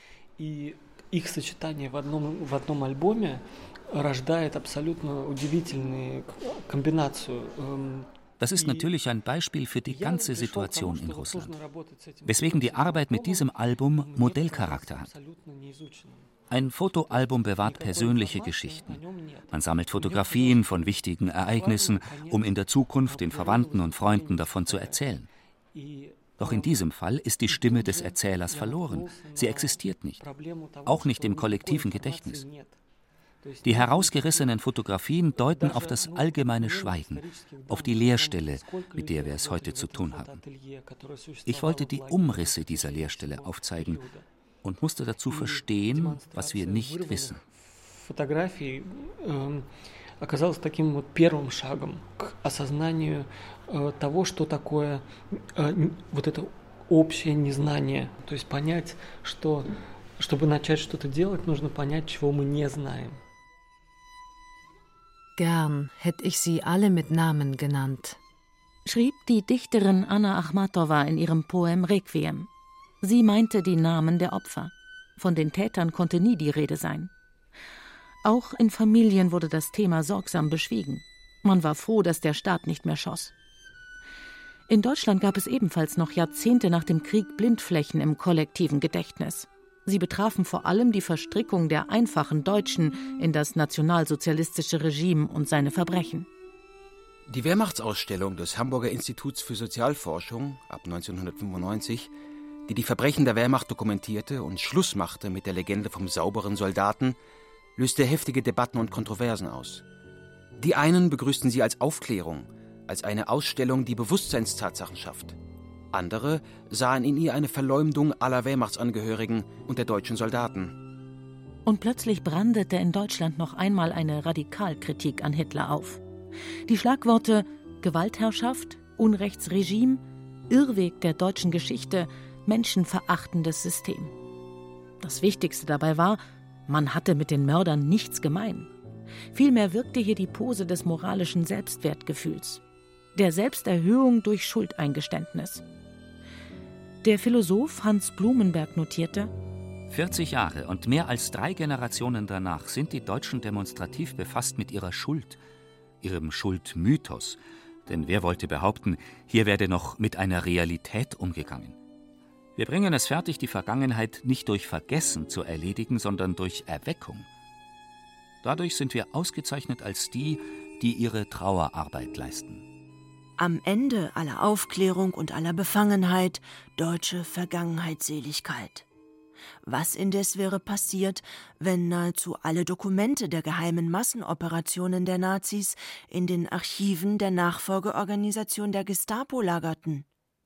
Das ist natürlich ein Beispiel für die ganze Situation in Russland, weswegen die Arbeit mit diesem Album Modellcharakter hat. Ein Fotoalbum bewahrt persönliche Geschichten. Man sammelt Fotografien von wichtigen Ereignissen, um in der Zukunft den Verwandten und Freunden davon zu erzählen. Doch in diesem Fall ist die Stimme des Erzählers verloren. Sie existiert nicht, auch nicht im kollektiven Gedächtnis. Die herausgerissenen Fotografien deuten auf das allgemeine Schweigen, auf die Leerstelle, mit der wir es heute zu tun haben. Ich wollte die Umrisse dieser Leerstelle aufzeigen und musste dazu verstehen, was wir nicht wissen. Фотографии оказалось таким вот первым шагом к осознанию того, что такое вот это общее незнание. То есть понять, что, чтобы начать что-то делать, нужно понять, чего мы не знаем. Gern hätte ich sie alle mit Namen genannt, schrieb die Dichterin Anna Achmatowa in ihrem Poem Requiem. Sie meinte die Namen der Opfer. Von den Tätern konnte nie die Rede sein. Auch in Familien wurde das Thema sorgsam beschwiegen. Man war froh, dass der Staat nicht mehr schoss. In Deutschland gab es ebenfalls noch Jahrzehnte nach dem Krieg Blindflächen im kollektiven Gedächtnis. Sie betrafen vor allem die Verstrickung der einfachen Deutschen in das nationalsozialistische Regime und seine Verbrechen. Die Wehrmachtsausstellung des Hamburger Instituts für Sozialforschung ab 1995, die die Verbrechen der Wehrmacht dokumentierte und Schluss machte mit der Legende vom sauberen Soldaten, löste heftige Debatten und Kontroversen aus. Die einen begrüßten sie als Aufklärung, als eine Ausstellung, die Bewusstseinstatsachen schafft. Andere sahen in ihr eine Verleumdung aller Wehrmachtsangehörigen und der deutschen Soldaten. Und plötzlich brandete in Deutschland noch einmal eine Radikalkritik an Hitler auf. Die Schlagworte Gewaltherrschaft, Unrechtsregime, Irrweg der deutschen Geschichte, menschenverachtendes System. Das Wichtigste dabei war, man hatte mit den Mördern nichts gemein. Vielmehr wirkte hier die Pose des moralischen Selbstwertgefühls, der Selbsterhöhung durch Schuldeingeständnis. Der Philosoph Hans Blumenberg notierte: 40 Jahre und mehr als 3 Generationen danach sind die Deutschen demonstrativ befasst mit ihrer Schuld, ihrem Schuldmythos. Denn wer wollte behaupten, hier werde noch mit einer Realität umgegangen? Wir bringen es fertig, die Vergangenheit nicht durch Vergessen zu erledigen, sondern durch Erweckung. Dadurch sind wir ausgezeichnet als die, die ihre Trauerarbeit leisten. Am Ende aller Aufklärung und aller Befangenheit deutsche Vergangenheitsseligkeit. Was indes wäre passiert, wenn nahezu alle Dokumente der geheimen Massenoperationen der Nazis in den Archiven der Nachfolgeorganisation der Gestapo lagerten?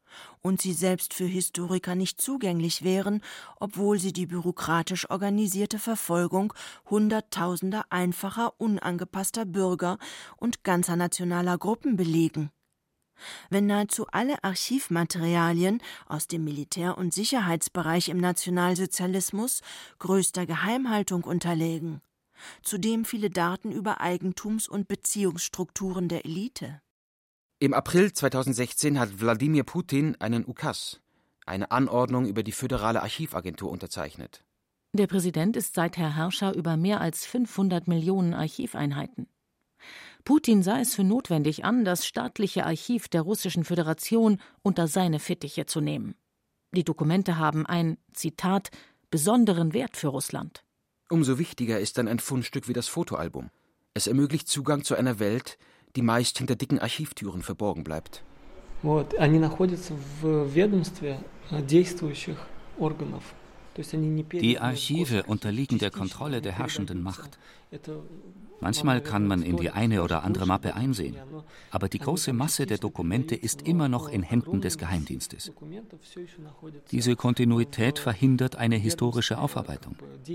und sie selbst für Historiker nicht zugänglich wären, obwohl sie die bürokratisch organisierte Verfolgung Hunderttausender einfacher, unangepasster Bürger und ganzer nationaler Gruppen belegen. Wenn nahezu alle Archivmaterialien aus dem Militär- und Sicherheitsbereich im Nationalsozialismus größter Geheimhaltung unterlägen, zudem viele Daten über Eigentums- und Beziehungsstrukturen der Elite. Im April 2016 hat Wladimir Putin einen Ukas, eine Anordnung über die Föderale Archivagentur, unterzeichnet. Der Präsident ist seither Herrscher über mehr als 500 Millionen Archiveinheiten. Putin sah es für notwendig an, das staatliche Archiv der Russischen Föderation unter seine Fittiche zu nehmen. Die Dokumente haben einen, Zitat, besonderen Wert für Russland. Umso wichtiger ist dann ein Fundstück wie das Fotoalbum. Es ermöglicht Zugang zu einer Welt, die meist hinter dicken Archivtüren verborgen bleibt. Они находятся в ведомстве действующих органов. Die Archive unterliegen der Kontrolle der herrschenden Macht. Manchmal kann man in die eine oder andere Mappe einsehen, aber die große Masse der Dokumente ist immer noch in Händen des Geheimdienstes. Diese Kontinuität verhindert eine historische Aufarbeitung.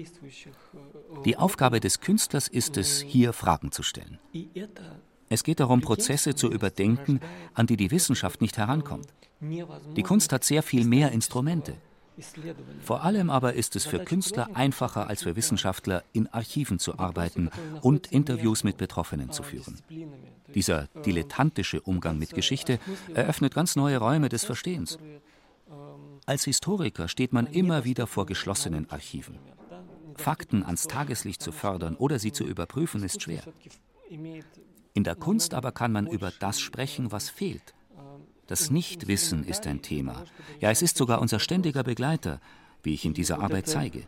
Die Aufgabe des Künstlers ist es, hier Fragen zu stellen. Es geht darum, Prozesse zu überdenken, an die die Wissenschaft nicht herankommt. Die Kunst hat sehr viel mehr Instrumente. Vor allem aber ist es für Künstler einfacher als für Wissenschaftler, in Archiven zu arbeiten und Interviews mit Betroffenen zu führen. Dieser dilettantische Umgang mit Geschichte eröffnet ganz neue Räume des Verstehens. Als Historiker steht man immer wieder vor geschlossenen Archiven. Fakten ans Tageslicht zu fördern oder sie zu überprüfen, ist schwer. In der Kunst aber kann man über das sprechen, was fehlt. Das Nichtwissen ist ein Thema. Ja, es ist sogar unser ständiger Begleiter, wie ich in dieser Arbeit zeige.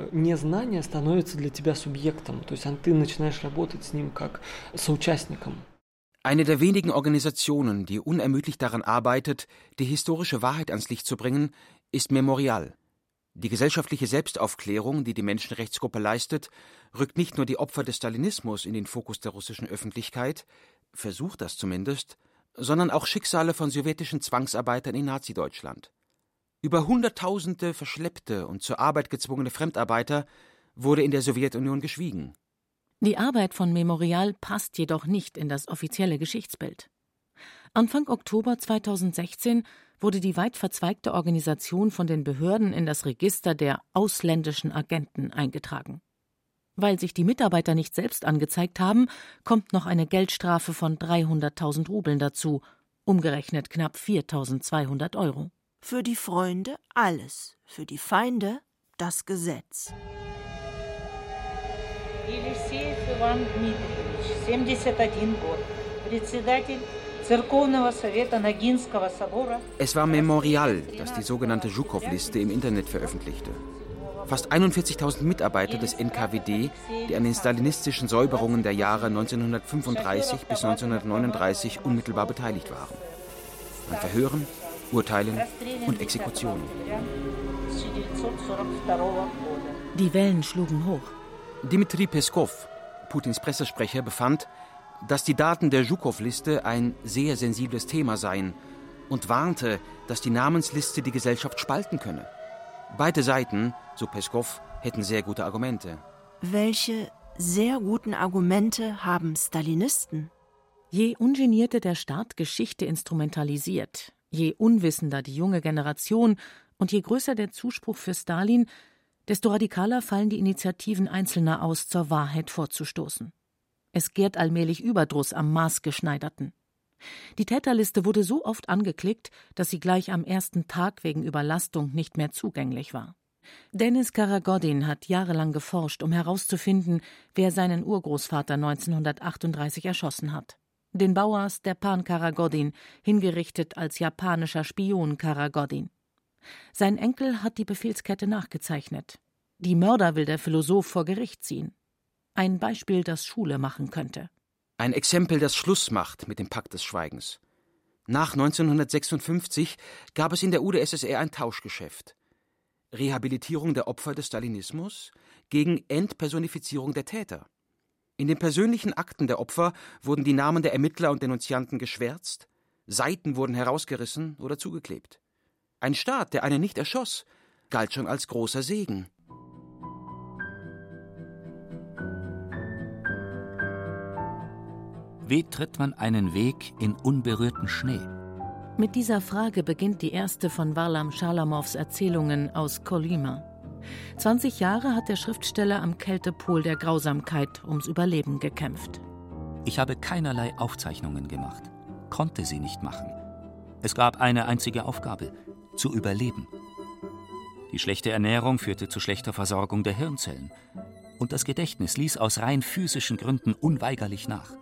Eine der wenigen Organisationen, die unermüdlich daran arbeitet, die historische Wahrheit ans Licht zu bringen, ist Memorial. Die gesellschaftliche Selbstaufklärung, die die Menschenrechtsgruppe leistet, rückt nicht nur die Opfer des Stalinismus in den Fokus der russischen Öffentlichkeit, versucht das zumindest, sondern auch Schicksale von sowjetischen Zwangsarbeitern in Nazi-Deutschland. Über Hunderttausende verschleppte und zur Arbeit gezwungene Fremdarbeiter wurde in der Sowjetunion geschwiegen. Die Arbeit von Memorial passt jedoch nicht in das offizielle Geschichtsbild. Anfang Oktober 2016 wurde die weit verzweigte Organisation von den Behörden in das Register der ausländischen Agenten eingetragen. Weil sich die Mitarbeiter nicht selbst angezeigt haben, kommt noch eine Geldstrafe von 300.000 Rubeln dazu, umgerechnet knapp 4.200 €. Für die Freunde alles, für die Feinde das Gesetz. Елисеев Иван Дмитриевич, 71 год, председатель Церковного совета Ногинского собора. Es war Memorial, das die sogenannte Zhukov-Liste im Internet veröffentlichte. Fast 41.000 Mitarbeiter des NKWD, die an den stalinistischen Säuberungen der Jahre 1935 bis 1939 unmittelbar beteiligt waren. An Verhören, Urteilen und Exekutionen. Die Wellen schlugen hoch. Dmitri Peskov, Putins Pressesprecher, befand, dass die Daten der Zhukov-Liste ein sehr sensibles Thema seien und warnte, dass die Namensliste die Gesellschaft spalten könne. Beide Seiten, so Peskov, hätten sehr gute Argumente. Welche sehr guten Argumente haben Stalinisten? Je ungenierter der Staat Geschichte instrumentalisiert, je unwissender die junge Generation und je größer der Zuspruch für Stalin, desto radikaler fallen die Initiativen Einzelner aus, zur Wahrheit vorzustoßen. Es gärt allmählich Überdruss am Maßgeschneiderten. Die Täterliste wurde so oft angeklickt, dass sie gleich am ersten Tag wegen Überlastung nicht mehr zugänglich war. Dennis Karagodin hat jahrelang geforscht, um herauszufinden, wer seinen Urgroßvater 1938 erschossen hat. Den Bauer Stepan Karagodin, hingerichtet als japanischer Spion Karagodin. Sein Enkel hat die Befehlskette nachgezeichnet. Die Mörder will der Philosoph vor Gericht ziehen. Ein Beispiel, das Schule machen könnte. Ein Exempel, das Schluss macht mit dem Pakt des Schweigens. Nach 1956 gab es in der UdSSR ein Tauschgeschäft. Rehabilitierung der Opfer des Stalinismus gegen Entpersonifizierung der Täter. In den persönlichen Akten der Opfer wurden die Namen der Ermittler und Denunzianten geschwärzt, Seiten wurden herausgerissen oder zugeklebt. Ein Staat, der einen nicht erschoss, galt schon als großer Segen. Wie tritt man einen Weg in unberührten Schnee? Mit dieser Frage beginnt die erste von Warlam Schalamows Erzählungen aus Kolyma. 20 Jahre hat der Schriftsteller am Kältepol der Grausamkeit ums Überleben gekämpft. Ich habe keinerlei Aufzeichnungen gemacht, konnte sie nicht machen. Es gab eine einzige Aufgabe: zu überleben. Die schlechte Ernährung führte zu schlechter Versorgung der Hirnzellen. Und das Gedächtnis ließ aus rein physischen Gründen unweigerlich nach.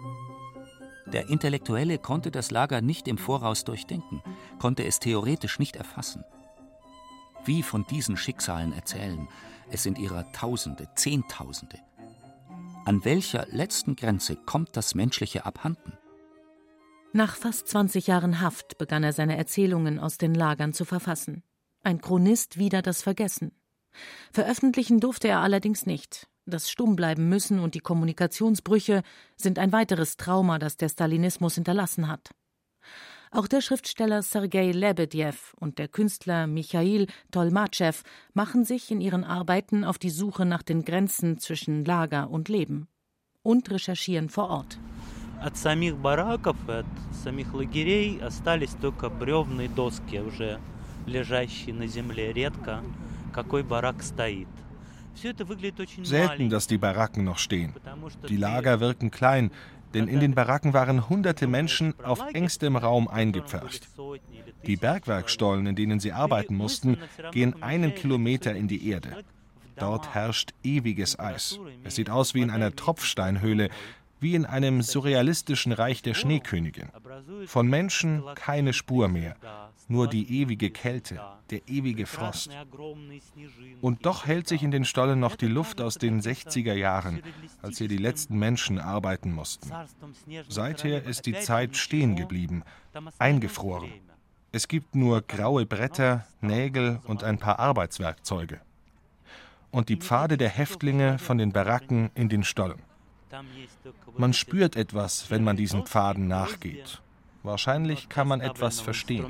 Der Intellektuelle konnte das Lager nicht im Voraus durchdenken, konnte es theoretisch nicht erfassen. Wie von diesen Schicksalen erzählen, es sind ihrer Tausende, Zehntausende. An welcher letzten Grenze kommt das Menschliche abhanden? Nach fast 20 Jahren Haft begann er seine Erzählungen aus den Lagern zu verfassen. Ein Chronist wider das Vergessen. Veröffentlichen durfte er allerdings nicht. Das Stummbleiben müssen und die Kommunikationsbrüche sind ein weiteres Trauma, das der Stalinismus hinterlassen hat. Auch der Schriftsteller Sergei Lebedjew und der Künstler Michail Tolmatschew machen sich in ihren Arbeiten auf die Suche nach den Grenzen zwischen Lager und Leben und recherchieren vor Ort. От самих бараков, от самих лагерей остались только бревные доски, уже лежащие на земле. Редко какой барак стоит. Selten, dass die Baracken noch stehen. Die Lager wirken klein, denn in den Baracken waren hunderte Menschen auf engstem Raum eingepfercht. Die Bergwerkstollen, in denen sie arbeiten mussten, gehen 1 Kilometer in die Erde. Dort herrscht ewiges Eis. Es sieht aus wie in einer Tropfsteinhöhle, wie in einem surrealistischen Reich der Schneekönigin. Von Menschen keine Spur mehr, nur die ewige Kälte, der ewige Frost. Und doch hält sich in den Stollen noch die Luft aus den 60er Jahren, als hier die letzten Menschen arbeiten mussten. Seither ist die Zeit stehen geblieben, eingefroren. Es gibt nur graue Bretter, Nägel und ein paar Arbeitswerkzeuge. Und die Pfade der Häftlinge von den Baracken in den Stollen. Man spürt etwas, wenn man diesen Pfaden nachgeht. Wahrscheinlich kann man etwas verstehen.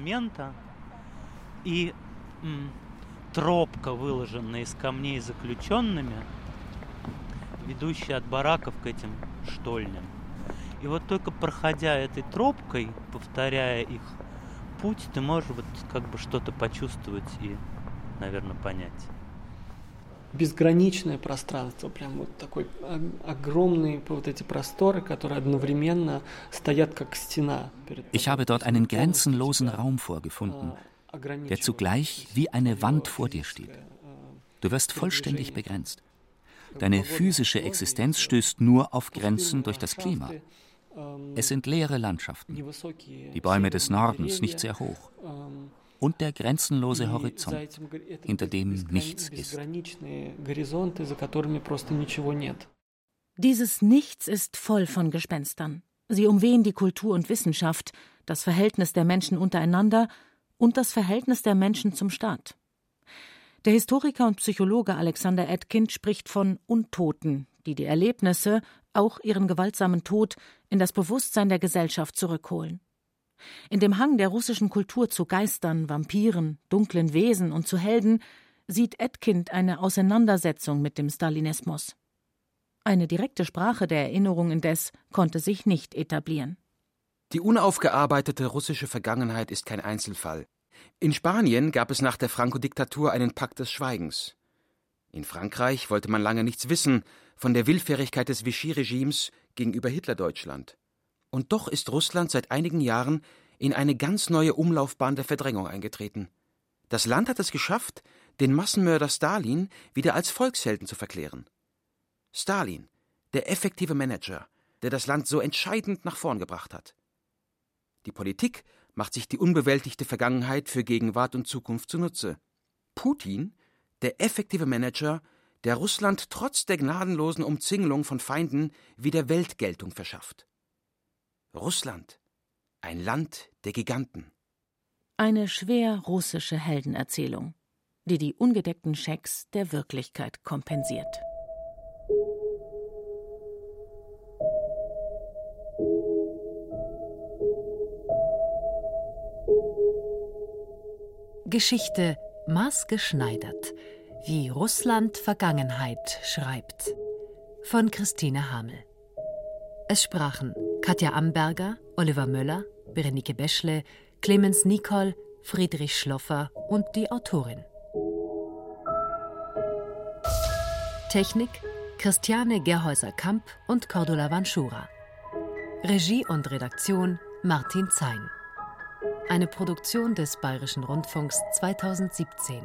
Тропка, выложенная из камней заключенными, ведущая от бараков к этим штольням. И вот только проходя этой тропкой, повторяя их путь, ты можешь вот как бы что-то почувствовать и, наверное, понять. Безграничное пространство, прям вот такой огромные вот эти просторы, которые одновременно стоят как стена. Ich habe dort einen grenzenlosen Raum vorgefunden, der zugleich wie eine Wand vor dir steht. Du wirst vollständig begrenzt. Deine physische Existenz stößt nur auf Grenzen durch das Klima. Es sind leere Landschaften, die Bäume des Nordens nicht sehr hoch. Und der grenzenlose Horizont, hinter dem nichts ist. Dieses Nichts ist voll von Gespenstern. Sie umwehen die Kultur und Wissenschaft, das Verhältnis der Menschen untereinander und das Verhältnis der Menschen zum Staat. Der Historiker und Psychologe Alexander Etkind spricht von Untoten, die die Erlebnisse, auch ihren gewaltsamen Tod, in das Bewusstsein der Gesellschaft zurückholen. In dem Hang der russischen Kultur zu Geistern, Vampiren, dunklen Wesen und zu Helden sieht Etkind eine Auseinandersetzung mit dem Stalinismus. Eine direkte Sprache der Erinnerung indes konnte sich nicht etablieren. Die unaufgearbeitete russische Vergangenheit ist kein Einzelfall. In Spanien gab es nach der Franco-Diktatur einen Pakt des Schweigens. In Frankreich wollte man lange nichts wissen von der Willfährigkeit des Vichy-Regimes gegenüber Hitlerdeutschland. Und doch ist Russland seit einigen Jahren in eine ganz neue Umlaufbahn der Verdrängung eingetreten. Das Land hat es geschafft, den Massenmörder Stalin wieder als Volkshelden zu verklären. Stalin, der effektive Manager, der das Land so entscheidend nach vorn gebracht hat. Die Politik macht sich die unbewältigte Vergangenheit für Gegenwart und Zukunft zunutze. Putin, der effektive Manager, der Russland trotz der gnadenlosen Umzingelung von Feinden wieder Weltgeltung verschafft. Russland, ein Land der Giganten. Eine schwer russische Heldenerzählung, die die ungedeckten Schecks der Wirklichkeit kompensiert. Geschichte maßgeschneidert, wie Russland Vergangenheit schreibt. Von Christine Hamel. Es sprachen Katja Amberger, Oliver Möller, Berenike Beschle, Clemens Nicol, Friedrich Schloffer und die Autorin. Technik Christiane Gerhäuser-Kamp und Cordula Vanschura. Regie und Redaktion Martin Zein. Eine Produktion des Bayerischen Rundfunks 2017.